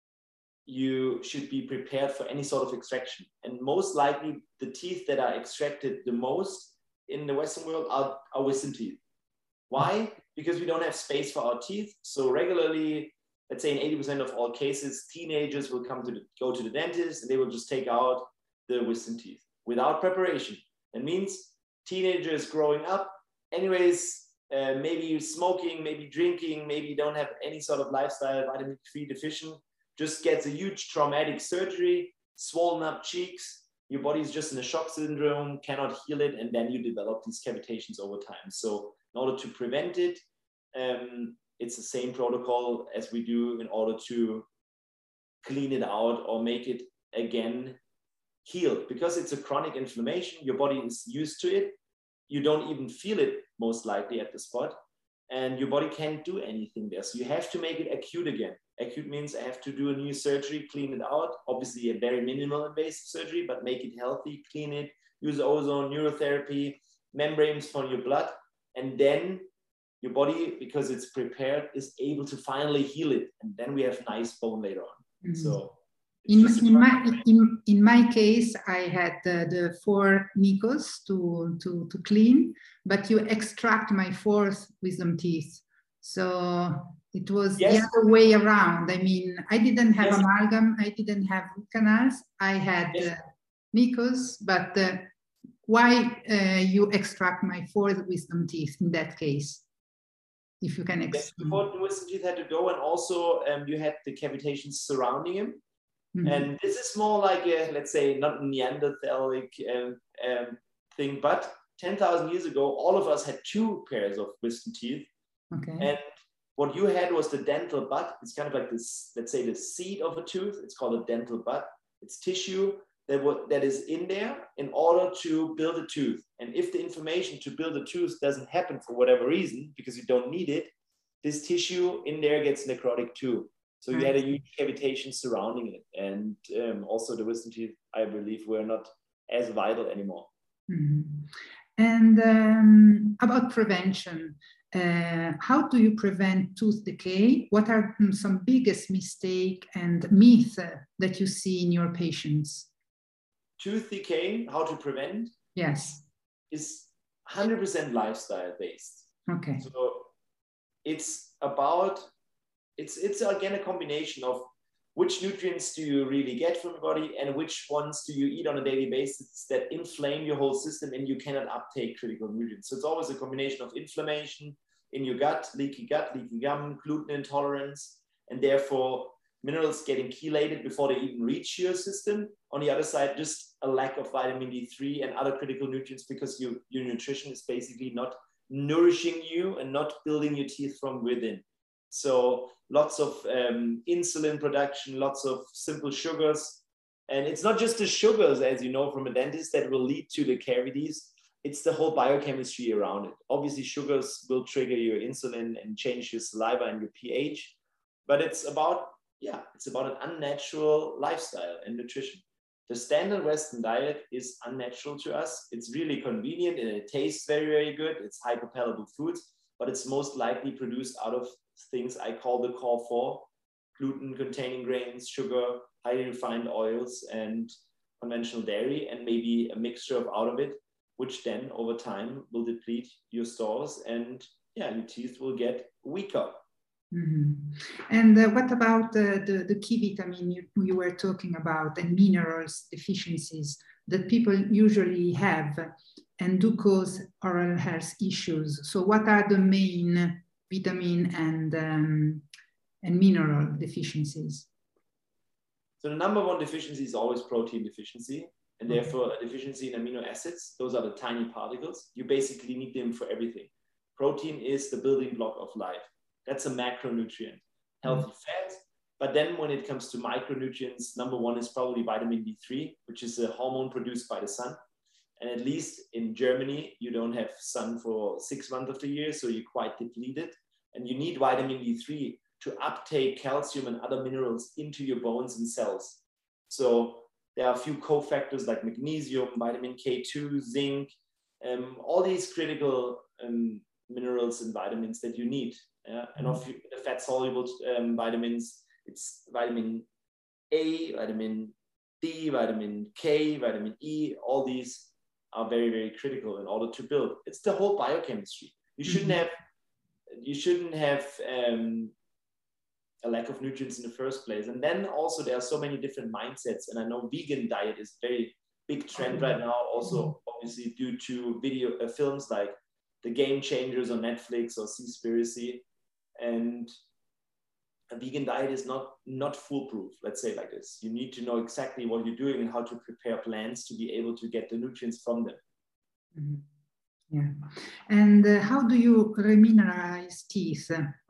Speaker 2: you should be prepared for any sort of extraction. And most likely the teeth that are extracted the most in the Western world are, are wisdom teeth. Why? Because we don't have space for our teeth. So regularly, let's say in eighty percent of all cases, teenagers will come to the, go to the dentist and they will just take out the wisdom teeth without preparation. That means teenagers growing up, anyways, uh, maybe smoking, maybe drinking, maybe you don't have any sort of lifestyle, vitamin three deficient, just gets a huge traumatic surgery, swollen up cheeks, your body's just in a shock syndrome, cannot heal it, and then you develop these cavitations over time. So in order to prevent it, um, it's the same protocol as we do in order to clean it out or make it again healed. Because it's a chronic inflammation, your body is used to it. You don't even feel it most likely at the spot, and your body can't do anything there. So you have to make it acute again. Acute means I have to do a new surgery, clean it out, obviously a very minimal invasive surgery, but make it healthy, clean it, use ozone, neurotherapy, membranes for your blood, and then your body, because it's prepared, is able to finally heal it. And then we have nice bone later on. Mm-hmm. So
Speaker 1: in, in, my, in, in my case, I had uh, the four Nikos to, to, to clean, but you extract my fourth wisdom teeth. So it was yes. the other way around. I mean, I didn't have yes. amalgam, I didn't have root canals, I had yes. uh, Nikos, but uh, why uh, you extract my fourth wisdom teeth in that case? If you can explain.
Speaker 2: Before the wisdom teeth had to go, and also um, you had the cavitations surrounding him. Mm-hmm. And this is more like a, let's say, not Neanderthalic um, um, thing, but ten thousand years ago, all of us had two pairs of wisdom teeth.
Speaker 1: Okay.
Speaker 2: And what you had was the dental bud. It's kind of like this, let's say, the seed of a tooth. It's called a dental bud. It's tissue that, w- that is in there in order to build a tooth. And if the inflammation to build a tooth doesn't happen for whatever reason, because you don't need it, this tissue in there gets necrotic too. So you had a huge cavitation surrounding it. And um, also the wisdom teeth, I believe, were not as vital anymore.
Speaker 1: Mm-hmm. And um, about prevention, uh, how do you prevent tooth decay? What are some biggest mistake and myth uh, that you see in your patients?
Speaker 2: Tooth decay, how to prevent?
Speaker 1: Yes.
Speaker 2: Is one hundred percent lifestyle based.
Speaker 1: Okay.
Speaker 2: So it's about, it's, it's again a combination of which nutrients do you really get from your body and which ones do you eat on a daily basis that inflame your whole system and you cannot uptake critical nutrients. So it's always a combination of inflammation in your gut, leaky gut, leaky gum, gluten intolerance, and therefore minerals getting chelated before they even reach your system. On the other side, just a lack of vitamin D three and other critical nutrients because you, your nutrition is basically not nourishing you and not building your teeth from within. So lots of um, insulin production, lots of simple sugars. And it's not just the sugars, as you know from a dentist, that will lead to the cavities. It's the whole biochemistry around it. Obviously, sugars will trigger your insulin and change your saliva and your pH. But it's about, yeah, it's about an unnatural lifestyle and nutrition. The standard Western diet is unnatural to us. It's really convenient and it tastes very, very good. It's hyperpalatable foods, but it's most likely produced out of things I call the core four: gluten-containing grains, sugar, highly refined oils, and conventional dairy, and maybe a mixture of out of it, which then over time will deplete your stores, and yeah, your teeth will get weaker.
Speaker 1: Mm-hmm. And uh, what about uh, the, the key vitamin you, you were talking about and minerals deficiencies that people usually have and do cause oral health issues? So what are the main vitamin and, um, and mineral deficiencies?
Speaker 2: So the number one deficiency is always protein deficiency, and okay. therefore a deficiency in amino acids. Those are the tiny particles. You basically need them for everything. Protein is the building block of life. That's a macronutrient, healthy mm. fat. But then when it comes to micronutrients, number one is probably vitamin D three, which is a hormone produced by the sun. And at least in Germany, you don't have sun for six months of the year, so you're quite depleted. And you need vitamin D three to uptake calcium and other minerals into your bones and cells. So there are a few cofactors like magnesium, vitamin K two, zinc, um, all these critical um, minerals and vitamins that you need. Yeah? And of the fat-soluble um, vitamins, it's vitamin A, vitamin D, vitamin K, vitamin E. All these are very, very critical in order to build. It's the whole biochemistry. You shouldn't have, you shouldn't have um, a lack of nutrients in the first place. And then also there are so many different mindsets. And I know vegan diet is a very big trend right now, also obviously due to video uh, films like The Game Changers on Netflix or Seaspiracy. And a vegan diet is not, not foolproof, let's say like this. You need to know exactly what you're doing and how to prepare plants to be able to get the nutrients from them.
Speaker 1: Mm-hmm. Yeah. And uh, how do you remineralize teeth?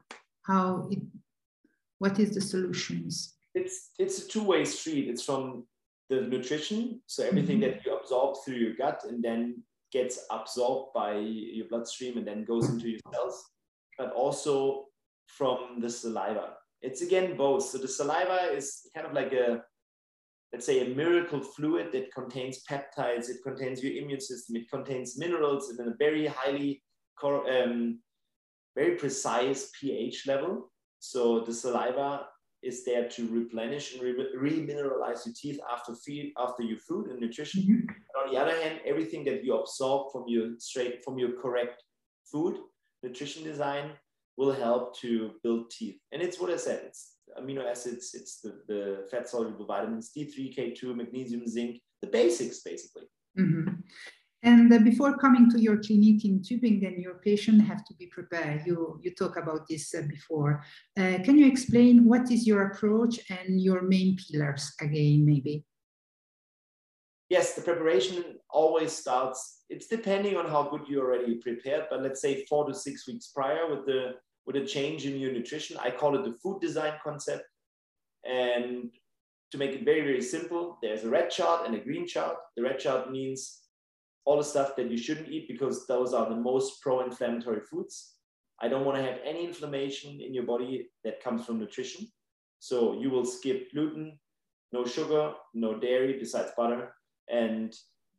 Speaker 1: How it, what is the solutions?
Speaker 2: It's, it's a two-way street. It's from the nutrition, so everything mm-hmm. that you absorb through your gut and then gets absorbed by your bloodstream and then goes into your cells, but also from the saliva. It's again both. So the saliva is kind of like a, let's say, a miracle fluid that contains peptides, it contains your immune system, it contains minerals and a very highly, um, very precise pH level. So the saliva is there to replenish and re-mineralize your teeth after feed, after your food and nutrition. Mm-hmm. And on the other hand, everything that you absorb from your straight, from your correct food, nutrition design, will help to build teeth. And it's what I said, it's amino acids, it's the, the fat-soluble vitamins, D three, K two, magnesium, zinc, the basics, basically.
Speaker 1: Mm-hmm. And uh, before coming to your clinic in Tübingen, your patient have to be prepared. You, you talked about this uh, before. Uh, can you explain what is your approach and your main pillars again, maybe?
Speaker 2: Yes, the preparation always starts, it's depending on how good you're already prepared, but let's say four to six weeks prior with the with a change in your nutrition. I call it the food design concept. And to make it very, very simple, there's a red chart and a green chart. The red chart means all the stuff that you shouldn't eat because those are the most pro-inflammatory foods. I don't want to have any inflammation in your body that comes from nutrition. So you will skip gluten, no sugar, no dairy besides butter. And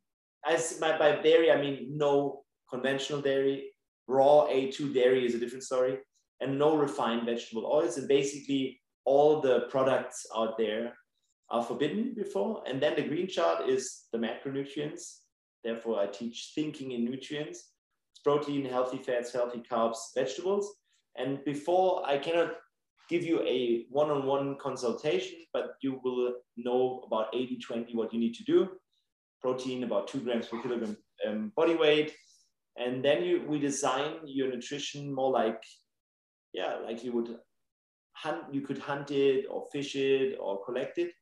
Speaker 2: as by, by dairy, I mean no conventional dairy. Raw A two dairy is a different story. And no refined vegetable oils. And basically all the products out there are forbidden before. And then the green chart is the macronutrients. Therefore, I teach thinking in nutrients. It's protein, healthy fats, healthy carbs, vegetables. And before, I cannot give you a one-on-one consultation, but you will know about eighty twenty what you need to do. Protein, about two grams per kilogram um, body weight. And then you, we design your nutrition more like, yeah, like you would hunt, you could hunt it or fish it or collect it.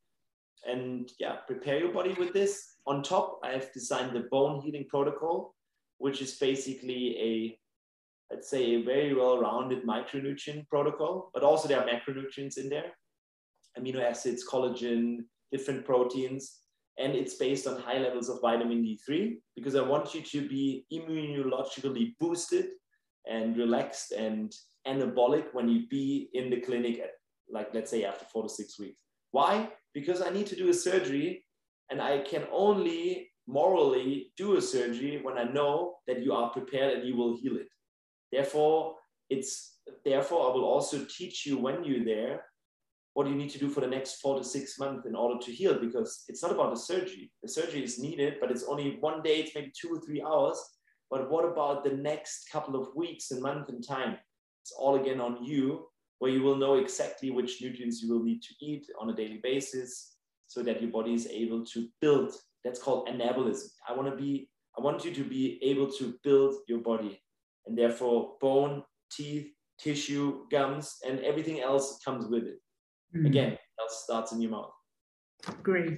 Speaker 2: And yeah, prepare your body with this. On top, I have designed the bone healing protocol, which is basically a, let's say, a very well-rounded micronutrient protocol, but also there are macronutrients in there, amino acids, collagen, different proteins. And it's based on high levels of vitamin D three, because I want you to be immunologically boosted and relaxed and anabolic when you be in the clinic at, like, let's say after four to six weeks. Why? Because I need to do a surgery and I can only morally do a surgery when I know that you are prepared and you will heal it. Therefore, it's, therefore I will also teach you when you're there what you need to do for the next four to six months in order to heal, because it's not about the surgery. The surgery is needed, but it's only one day, it's maybe two or three hours. But what about the next couple of weeks and month and time? It's all again on you, where you will know exactly which nutrients you will need to eat on a daily basis so that your body is able to build. That's called anabolism. I want to be, I want you to be able to build your body, and therefore bone, teeth, tissue, gums, and everything else comes with it. Mm. Again, that starts in your mouth.
Speaker 1: Great.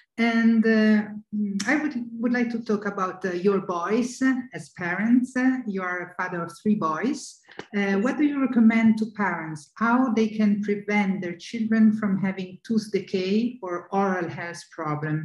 Speaker 1: And uh, I would, would like to talk about uh, your boys as parents. Uh, you are a father of three boys. Uh, what do you recommend to parents? How they can prevent their children from having tooth decay or oral health problem?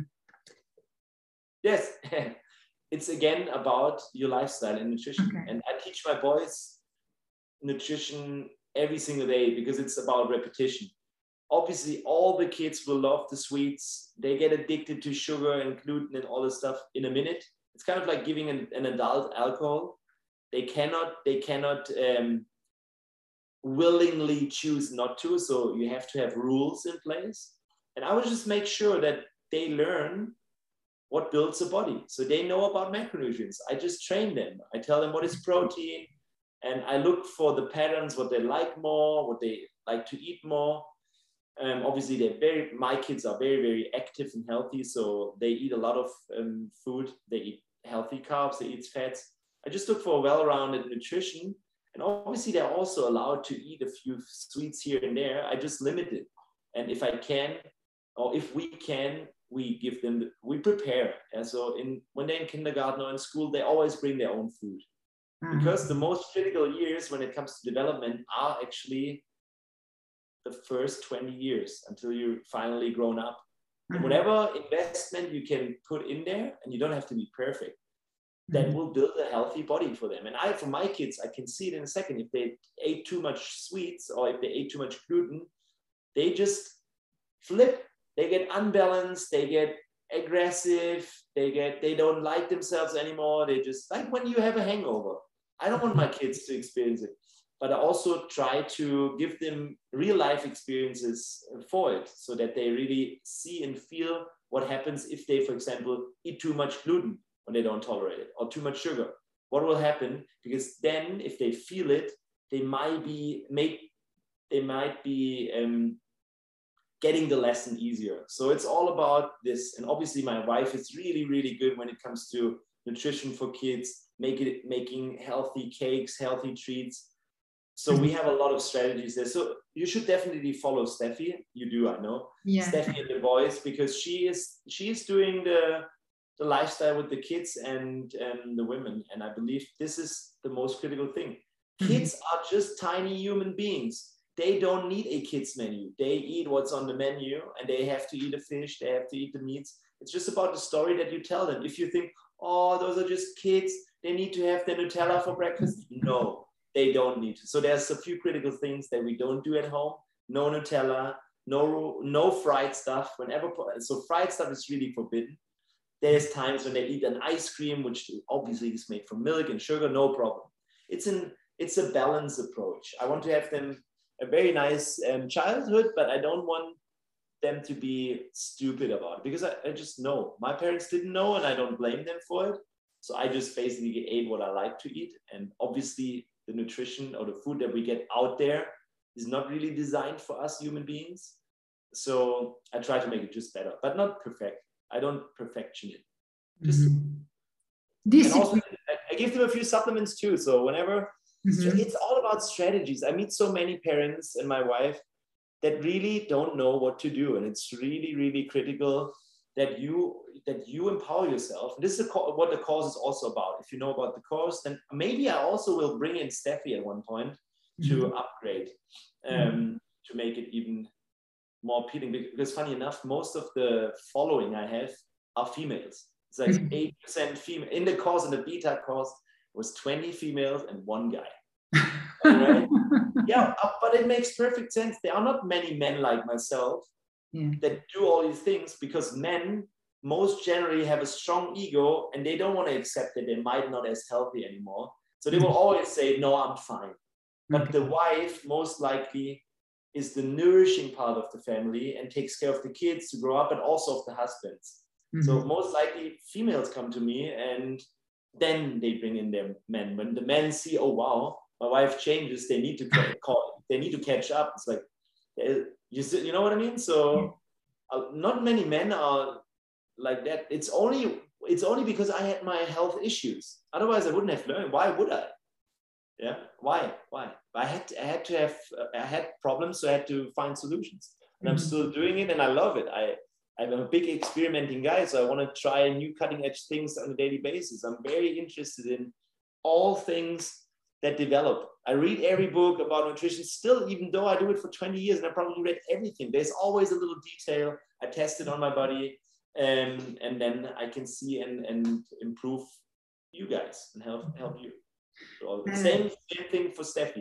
Speaker 2: Yes, it's again about your lifestyle and nutrition. Okay. And I teach my boys nutrition every single day because it's about repetition. Obviously, all the kids will love the sweets. They get addicted to sugar and gluten and all this stuff in a minute. It's kind of like giving an, an adult alcohol. They cannot, they cannot um, willingly choose not to. So you have to have rules in place. And I would just make sure that they learn what builds the body. So they know about macronutrients. I just train them. I tell them what is protein, and I look for the patterns, what they like more, what they like to eat more. Um, obviously, they're very, my kids are very, very active and healthy. So they eat a lot of um, food. They eat healthy carbs, they eat fats. I just look for a well-rounded nutrition. And obviously, they're also allowed to eat a few sweets here and there. I just limit it. And if I can, or if we can, we give them, we prepare. And so in, when they're in kindergarten or in school, they always bring their own food. Mm-hmm. Because the most critical years when it comes to development are actually the first twenty years until you're finally grown up. And whatever investment you can put in there, and you don't have to be perfect, that will build a healthy body for them. And I, for my kids, I can see it in a second. If they ate too much sweets or if they ate too much gluten, they just flip. They get unbalanced. They get aggressive. They get, they don't like themselves anymore. They just, like when you have a hangover. I don't want my kids to experience it. But I also try to give them real life experiences for it so that they really see and feel what happens if they, for example, eat too much gluten when they don't tolerate it, or too much sugar. What will happen? Because then if they feel it, they might be, make, they might be um, getting the lesson easier. So it's all about this. And obviously my wife is really, really good when it comes to nutrition for kids, make it, making healthy cakes, healthy treats. So we have a lot of strategies there. So you should definitely follow Steffi. You do, I know. Yeah. Steffi and the boys, because she is she is doing the, the lifestyle with the kids and, and the women. And I believe this is the most critical thing. Kids mm-hmm. are just tiny human beings. They don't need a kids menu. They eat what's on the menu, and they have to eat a fish. They have to eat the meats. It's just about the story that you tell them. If you think, oh, those are just kids, they need to have the Nutella for breakfast. No. They don't need to. So there's a few critical things that we don't do at home. No Nutella, no, no fried stuff. Whenever, so fried stuff is really forbidden. There's times when they eat an ice cream, which obviously is made from milk and sugar, no problem. It's an, it's a balanced approach. I want to have them a very nice um, childhood, but I don't want them to be stupid about it because I, I just know. My parents didn't know, and I don't blame them for it. So I just basically ate what I like to eat. And obviously, the nutrition or the food that we get out there is not really designed for us human beings. So I try to make it just better, but not perfect. I don't perfection it. Just mm-hmm. this and also, I, I give them a few supplements too. So whenever mm-hmm. it's all about strategies. I meet so many parents and my wife that really don't know what to do. And it's really, really critical that you that you empower yourself. And this is what the course is also about. If you know about the course, then maybe I also will bring in Steffi at one point to mm-hmm. upgrade, um, mm-hmm. to make it even more appealing. Because funny enough, most of the following I have are females. It's like mm-hmm. eight percent female. In the course, in the beta course, it was twenty females and one guy. Right? Yeah, but it makes perfect sense. There are not many men like myself yeah. that do all these things, because men most generally have a strong ego and they don't want to accept that they might not as healthy anymore. So they will always say, no, I'm fine. But okay. the wife most likely is the nourishing part of the family and takes care of the kids to grow up, and also of the husbands. Mm-hmm. So most likely females come to me and then they bring in their men. When the men see, oh, wow, my wife changes, they need to call, they need to catch up. It's like, you, you know what I mean? So uh, not many men are like that. It's only it's only because I had my health issues. Otherwise, I wouldn't have learned. Why would I? Yeah, why? Why? I had to, I had to have I had problems, so I had to find solutions. And I'm still doing it, and I love it. I I'm a big experimenting guy, so I want to try new cutting edge things on a daily basis. I'm very interested in all things that develop. I read every book about nutrition still, even though I do it for twenty years, and I probably read everything. There's always a little detail. I test it on my body. Um, and then I can see and, and improve you guys and help help you. So same, same thing for Steffi.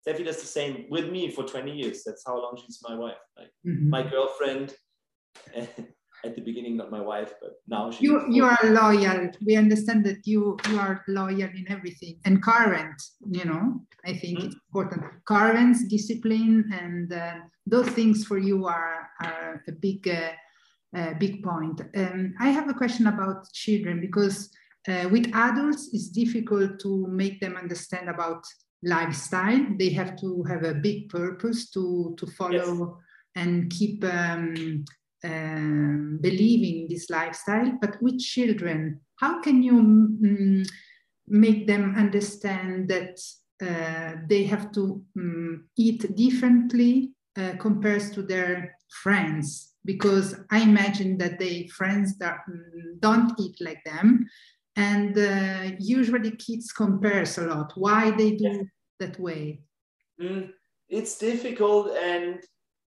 Speaker 2: Steffi does the same with me for twenty years. That's how long she's my wife. Like
Speaker 1: Mm-hmm.
Speaker 2: my girlfriend. At the beginning, not my wife, but now she.
Speaker 1: You you are loyal. We understand that you you are loyal in everything and current. You know, I think mm-hmm. it's important. Current, discipline, and uh, those things for you are are a big uh, uh, big point. Um, I have a question about children because uh, with adults it's difficult to make them understand about lifestyle. They have to have a big purpose to to follow yes. and keep. Um, Um, believing in this lifestyle, but with children, how can you mm, make them understand that uh, they have to um, eat differently uh, compared to their friends? Because I imagine that they friends that um, don't eat like them, and uh, usually kids compares a lot. Why they do yeah. that way?
Speaker 2: Mm, it's difficult, and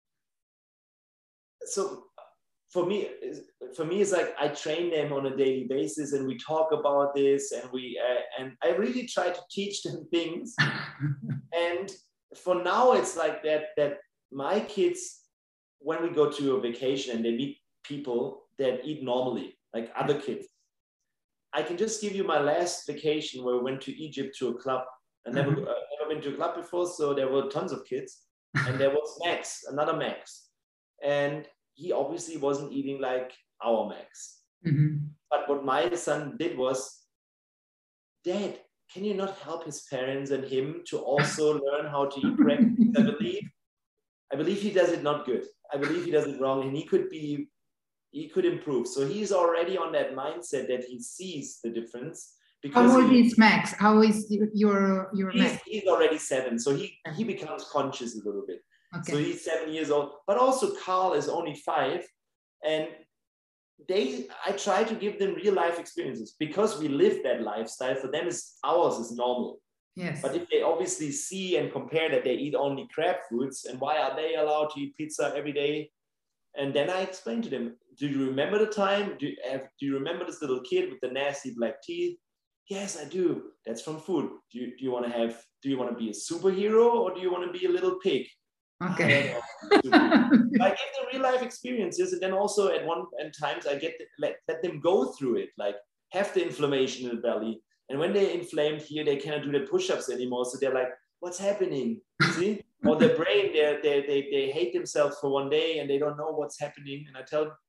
Speaker 2: so. For me, for me, it's like I train them on a daily basis, and we talk about this, and we uh, and I really try to teach them things. And for now, it's like that. That my kids, when we go to a vacation and they meet people that eat normally, like other kids, I can just give you my last vacation where we went to Egypt to a club. I never uh, never been to a club before, so there were tons of kids, and there was Max, another Max, and he obviously wasn't eating like our Max.
Speaker 1: Mm-hmm.
Speaker 2: But what my son did was, Dad, can you not help his parents and him to also learn how to eat correctly? I believe, I believe he does it not good. I believe he does it wrong, and he could be, he could improve. So he's already on that mindset that he sees the difference.
Speaker 1: Because How old he, is Max? How is your your
Speaker 2: he's,
Speaker 1: Max?
Speaker 2: He's already seven, so he he becomes conscious a little bit. Okay. So he's seven years old, but also Carl is only five, and they, I try to give them real life experiences because we live that lifestyle. For them, is ours is normal.
Speaker 1: Yes.
Speaker 2: But if they obviously see and compare that they eat only crab foods, and why are they allowed to eat pizza every day? And then I explain to them: do you remember the time? Do you, have, do you remember this little kid with the nasty black teeth? Yes, I do. That's from food. Do you do you want to have? Do you want to be a superhero, or do you want to be a little pig?
Speaker 1: Okay.
Speaker 2: I give them real life experiences, and then also at one and times I get let, let them go through it, like have the inflammation in the belly, and when they're inflamed here, they cannot do their push-ups anymore. So they're like, "What's happening?" See, or their brain, they they they they hate themselves for one day and they don't know what's happening. And I tell them,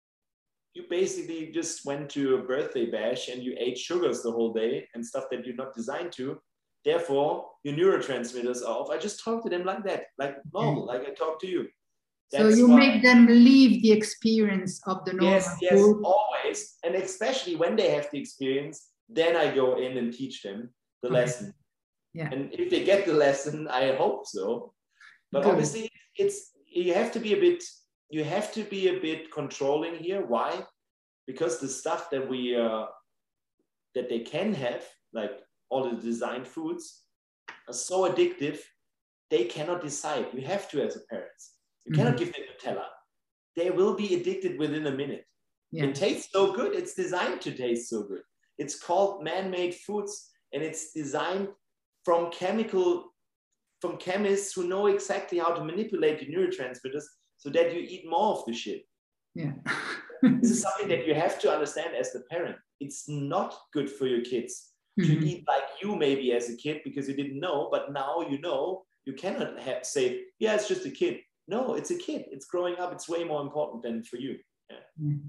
Speaker 2: you basically just went to a birthday bash and you ate sugars the whole day and stuff that you're not designed to. Therefore, your neurotransmitters are off. I just talk to them like that, like normal, like I talk to you.
Speaker 1: That's so you why, make them live the experience of the normal
Speaker 2: Yes, yes,
Speaker 1: food.
Speaker 2: Always. And especially when they have the experience, then I go in and teach them the
Speaker 1: okay.
Speaker 2: lesson.
Speaker 1: Yeah.
Speaker 2: And if they get the lesson, I hope so. But Good. Obviously, it's you have to be a bit, you have to be a bit controlling here. Why? Because the stuff that we, uh, that they can have, like all the designed foods, are so addictive, they cannot decide. You have to as a parent. You cannot mm-hmm. give them Nutella. They will be addicted within a minute. Yeah. It tastes so good. It's designed to taste so good. It's called man-made foods, and it's designed from chemical, from chemists who know exactly how to manipulate the neurotransmitters so that you eat more of the shit.
Speaker 1: Yeah.
Speaker 2: This is something that you have to understand as the parent. It's not good for your kids mm-hmm. to eat like you maybe as a kid because you didn't know, but now you know. You cannot have, say, yeah, it's just a kid. No, it's a kid. It's growing up. It's way more important than for you. Yeah.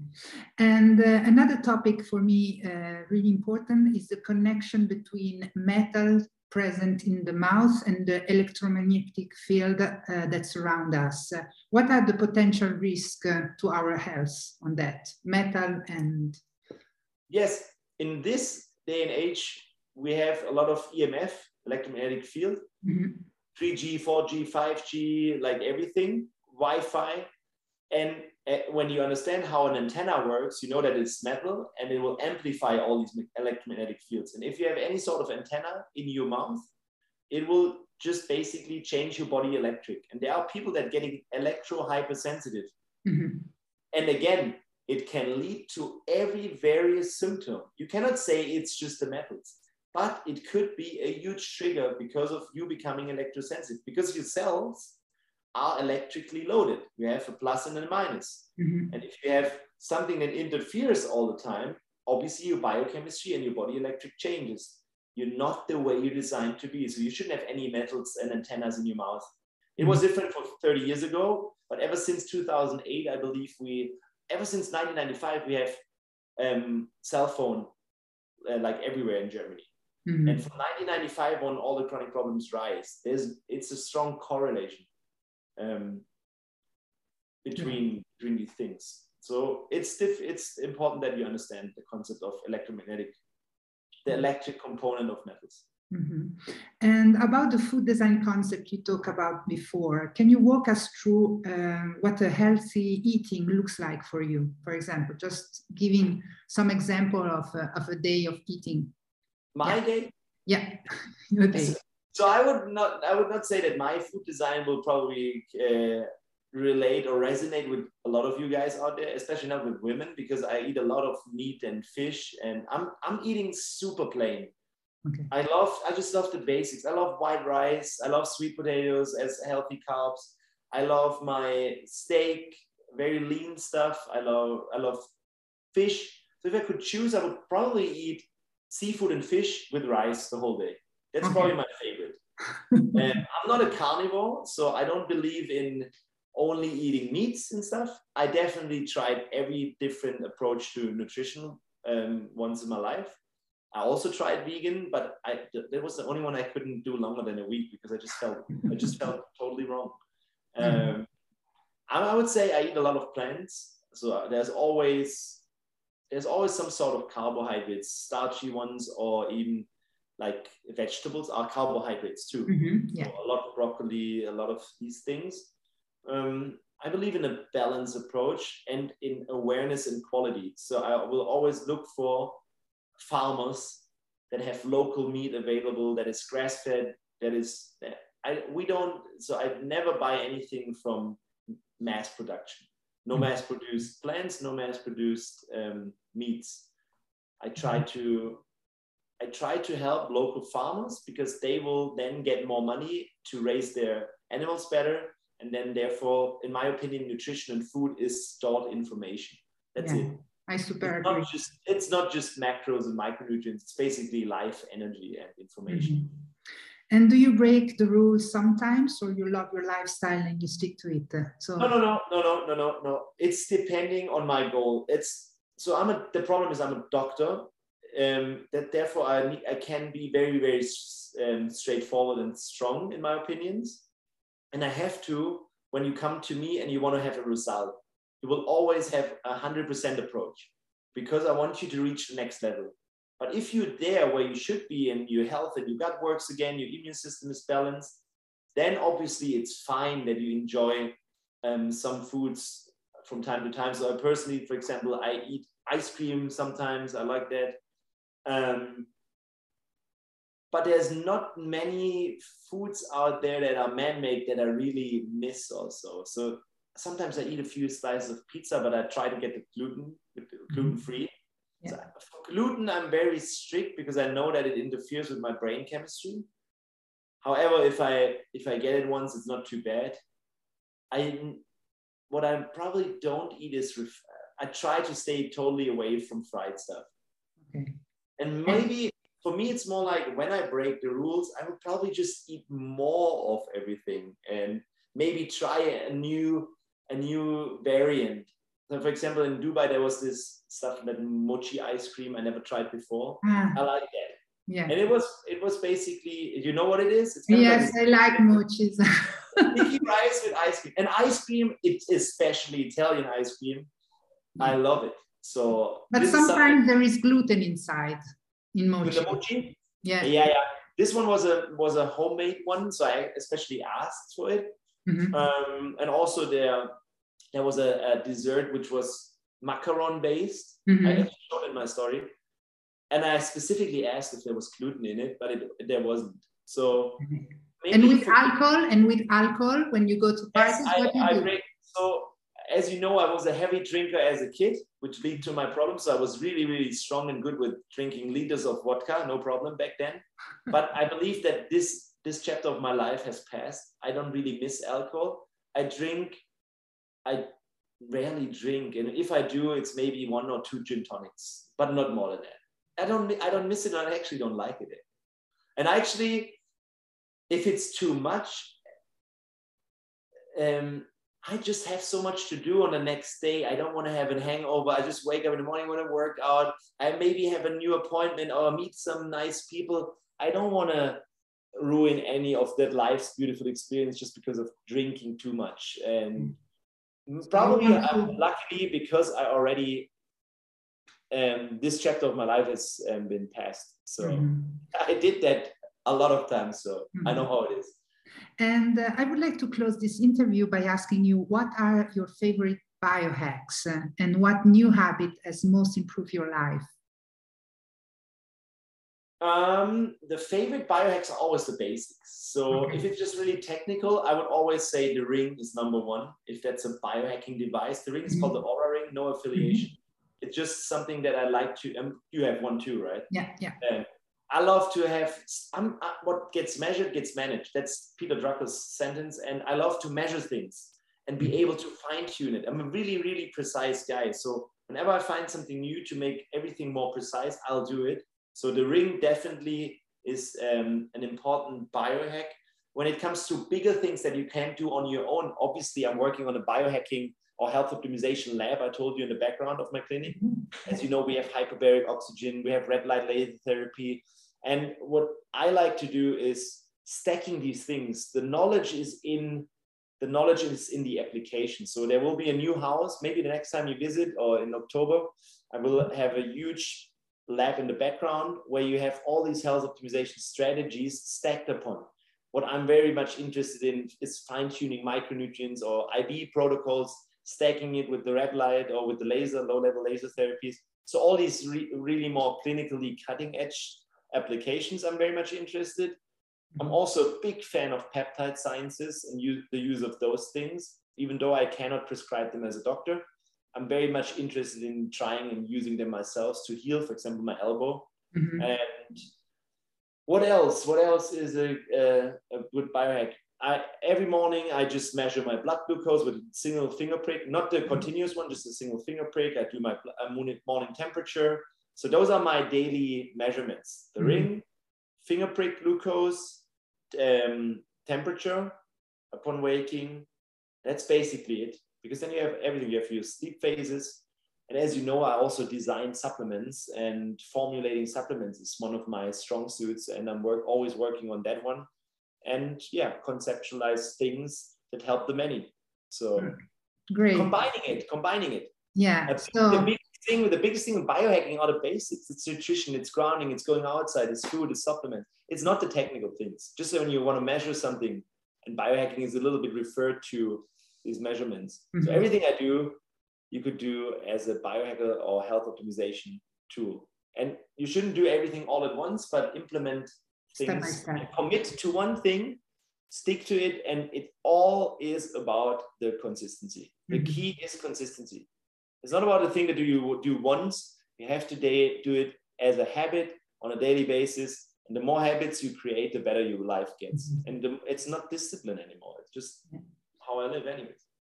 Speaker 1: And uh, another topic for me, uh, really important, is the connection between metal present in the mouth and the electromagnetic field uh, that surround us. Uh, what are the potential risks uh, to our health on that, metal and...
Speaker 2: Yes, in this day and age, we have a lot of E M F, electromagnetic field. Mm-hmm. three G, four G, five G, like everything, Wi-Fi. And uh, when you understand how an antenna works, you know that it's metal and it will amplify all these electromagnetic fields. And if you have any sort of antenna in your mouth, it will just basically change your body electric. And there are people that are getting electro hypersensitive. Mm-hmm. And again, it can lead to every various symptom. You cannot say it's just the metals. but it could be a huge trigger because of you becoming electrosensitive, because your cells are electrically loaded. You have a plus and a minus. Mm-hmm. And if you have something that interferes all the time, obviously your biochemistry and your body electric changes. You're not the way you're designed to be. So you shouldn't have any metals and antennas in your mouth. It was different for thirty years ago, but ever since two thousand eight, I believe we, ever since nineteen ninety-five, we have um, cell phone uh, like everywhere in Germany. Mm-hmm. And from nineteen ninety-five on, all the chronic problems rise. There's, it's a strong correlation um, between, mm-hmm. between these things. So it's diff- it's important that you understand the concept of electromagnetic, the electric component of metals.
Speaker 1: Mm-hmm. And about the food design concept you talked about before, can you walk us through uh, what a healthy eating looks like for you? For example, just giving some example of a, of a day of eating.
Speaker 2: My
Speaker 1: yeah.
Speaker 2: day?
Speaker 1: Yeah, your day.
Speaker 2: So I would not I would not say that my food design will probably uh, relate or resonate with a lot of you guys out there, especially not with women, because I eat a lot of meat and fish, and I'm I'm eating super plain. Okay. I love, I just love the basics. I love white rice. I love sweet potatoes as healthy carbs. I love my steak, very lean stuff. I love, I love fish. So if I could choose, I would probably eat seafood and fish with rice the whole day. That's okay. Probably my favorite. And I'm not a carnivore, so I don't believe in only eating meats and stuff. I definitely tried every different approach to nutrition um, once in my life. I also tried vegan, but I, that was the only one I couldn't do longer than a week because I just felt, I just felt totally wrong. Um, I, I would say I eat a lot of plants. So there's always, there's always some sort of carbohydrates, starchy ones, or even like vegetables are carbohydrates too. Mm-hmm, yeah. So a lot of broccoli, a lot of these things. Um, I believe in a balanced approach and in awareness and quality. So I will always look for farmers that have local meat available, that is grass-fed, that is, I, we don't, so I never buy anything from mass production. No mm-hmm. mass-produced plants, no mass-produced um, meats. I try to, I try to help local farmers because they will then get more money to raise their animals better. And then therefore, in my opinion, nutrition and food is stored information. That's yeah. it.
Speaker 1: I super
Speaker 2: it's
Speaker 1: agree.
Speaker 2: Not just, it's not just macros and micronutrients. It's basically life, energy, and information.
Speaker 1: Mm-hmm. And do you break the rules sometimes, or you love your lifestyle and you stick to it? So
Speaker 2: no, no, no, no, no, no, no, no. It's depending on my goal. It's so I'm a. The problem is I'm a doctor. Um, that therefore I need, I can be very very um, straightforward and strong in my opinions, and I have to. When you come to me and you want to have a result, you will always have a hundred percent approach because I want you to reach the next level. But if you're there where you should be and your health and your gut works again, your immune system is balanced, then obviously it's fine that you enjoy um, some foods from time to time. So I personally, for example, I eat ice cream sometimes. I like that. Um, but there's not many foods out there that are man-made that I really miss also. So sometimes I eat a few slices of pizza, but I try to get the gluten, gluten-free. Yeah. So for gluten, I'm very strict because I know that it interferes with my brain chemistry. However, if I if I get it once, it's not too bad. I what I probably don't eat is ref- I try to stay totally away from fried stuff. Okay. And maybe for me, it's more like when I break the rules, I would probably just eat more of everything and maybe try a new a new variant. So for example, in Dubai, there was this stuff, that mochi ice cream I never tried before. Mm. I like that. Yeah. And it was it was basically, you know what it is? It's
Speaker 1: yes, like I like mochis.
Speaker 2: Sticky rice with ice cream. And ice cream, it's especially Italian ice cream. Yeah. I love it. So,
Speaker 1: but sometimes is there is gluten inside in mochi.
Speaker 2: With the mochi?
Speaker 1: Yeah.
Speaker 2: Yeah, yeah. This one was a was a homemade one, so I especially asked for it. Mm-hmm. Um, and also there there was a, a dessert which was macaron based. Mm-hmm. I actually showed in my story, and I specifically asked if there was gluten in it, but it, there wasn't. So
Speaker 1: maybe and with alcohol, and with alcohol, when you go to parties,
Speaker 2: yes,
Speaker 1: what
Speaker 2: I,
Speaker 1: do you
Speaker 2: I
Speaker 1: do?
Speaker 2: break, so as you know, I was a heavy drinker as a kid, which led to my problems. So I was really, really strong and good with drinking liters of vodka, no problem back then. But I believe that this, this chapter of my life has passed. I don't really miss alcohol. I drink, I rarely drink. And if I do, it's maybe one or two gin tonics, but not more than that. I don't, I don't miss it. And I actually don't like it. And actually, if it's too much, um, I just have so much to do on the next day. I don't want to have a hangover. I just wake up in the morning, want to work out. I maybe have a new appointment or meet some nice people. I don't want to ruin any of that life's beautiful experience just because of drinking too much. And probably, um, luckily, because I already, um, this chapter of my life has um, been passed. So mm-hmm. I did that a lot of times. So mm-hmm. I know how it is.
Speaker 1: And uh, I would like to close this interview by asking you, what are your favorite biohacks uh, and what new habit has most improved your life?
Speaker 2: Um, the favorite biohacks are always the basics. So okay. if it's just really technical, I would always say the ring is number one. If that's a biohacking device, the ring is mm-hmm. called the Oura Ring, no affiliation. Mm-hmm. It's just something that I like to, um, you have one too, right?
Speaker 1: Yeah, yeah.
Speaker 2: Um, I love to have, I'm, uh, what gets measured gets managed. That's Peter Drucker's sentence. And I love to measure things and be able to fine tune it. I'm a really, really precise guy. So whenever I find something new to make everything more precise, I'll do it. So the ring definitely is um, an important biohack. When it comes to bigger things that you can't do on your own, obviously I'm working on a biohacking or health optimization lab. I told you in the background of my clinic. As you know, we have hyperbaric oxygen, we have red light laser therapy. And what I like to do is stacking these things. The knowledge is in the knowledge is in the application. So there will be a new house. Maybe the next time you visit or in October, I will have a huge lab in the background where you have all these health optimization strategies stacked upon. What I'm very much interested in is fine-tuning micronutrients or I V protocols, stacking it with the red light or with the laser, low-level laser therapies. So all these re really more clinically cutting-edge applications, I'm very much interested. I'm also a big fan of peptide sciences and use, the use of those things, even though I cannot prescribe them as a doctor. I'm very much interested in trying and using them myself to heal, for example, my elbow. Mm-hmm. And what else? What else is a, a, a good biohack? I, every morning, I just measure my blood glucose with a single finger prick, not the continuous one, just a single finger prick. I do my morning temperature. So those are my daily measurements. The mm-hmm. ring, finger prick glucose, um, temperature upon waking. That's basically it. Because then you have everything. You have your sleep phases. And as you know, I also design supplements, and formulating supplements is one of my strong suits. And I'm work, always working on that one. And yeah, conceptualize things that help the many. So
Speaker 1: great.
Speaker 2: Combining it, combining it.
Speaker 1: Yeah.
Speaker 2: So the biggest thing, the biggest thing in biohacking are the basics. It's nutrition, it's grounding, it's going outside, it's food, it's supplement. It's not the technical things. Just when you want to measure something, and biohacking is a little bit referred to these measurements. Mm-hmm. So everything I do, you could do as a biohacker or health optimization tool. And you shouldn't do everything all at once, but implement things, step by step. Commit to one thing, stick to it, and it all is about the consistency. The mm-hmm. key is consistency. It's not about the thing that you do once. You have to do it as a habit on a daily basis. And the more habits you create, the better your life gets. Mm-hmm. And the, it's not discipline anymore. It's just yeah. how I live anyways.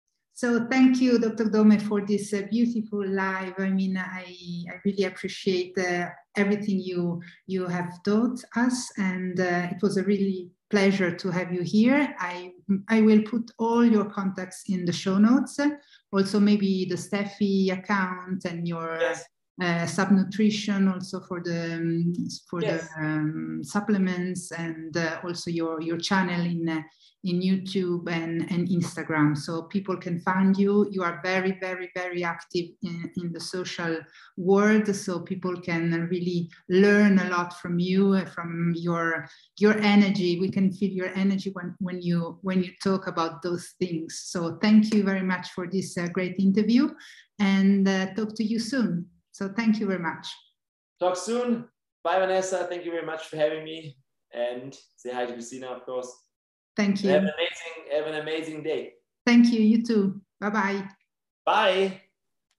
Speaker 1: So thank you, Doctor Dome, for this uh, beautiful live. I mean, I, I really appreciate uh, everything you, you have taught us. And uh, it was a really pleasure to have you here. I, I will put all your contacts in the show notes. Also, maybe the Steffi account and your yes. uh, Subnutrition also for the um, for yes. the um, supplements, and uh, also your your channel in uh, in YouTube and, and Instagram, so people can find you. You are very, very, very active in, in the social world, so people can really learn a lot from you, from your your energy. We can feel your energy when, when you when you talk about those things. So thank you very much for this uh, great interview, and uh, talk to you soon. So thank you very much.
Speaker 2: Talk soon. Bye, Vanessa. Thank you very much for having me, and say hi to Christina, of course.
Speaker 1: Thank you.
Speaker 2: Have an amazing, have an amazing day.
Speaker 1: Thank you. You too. Bye-bye.
Speaker 2: Bye.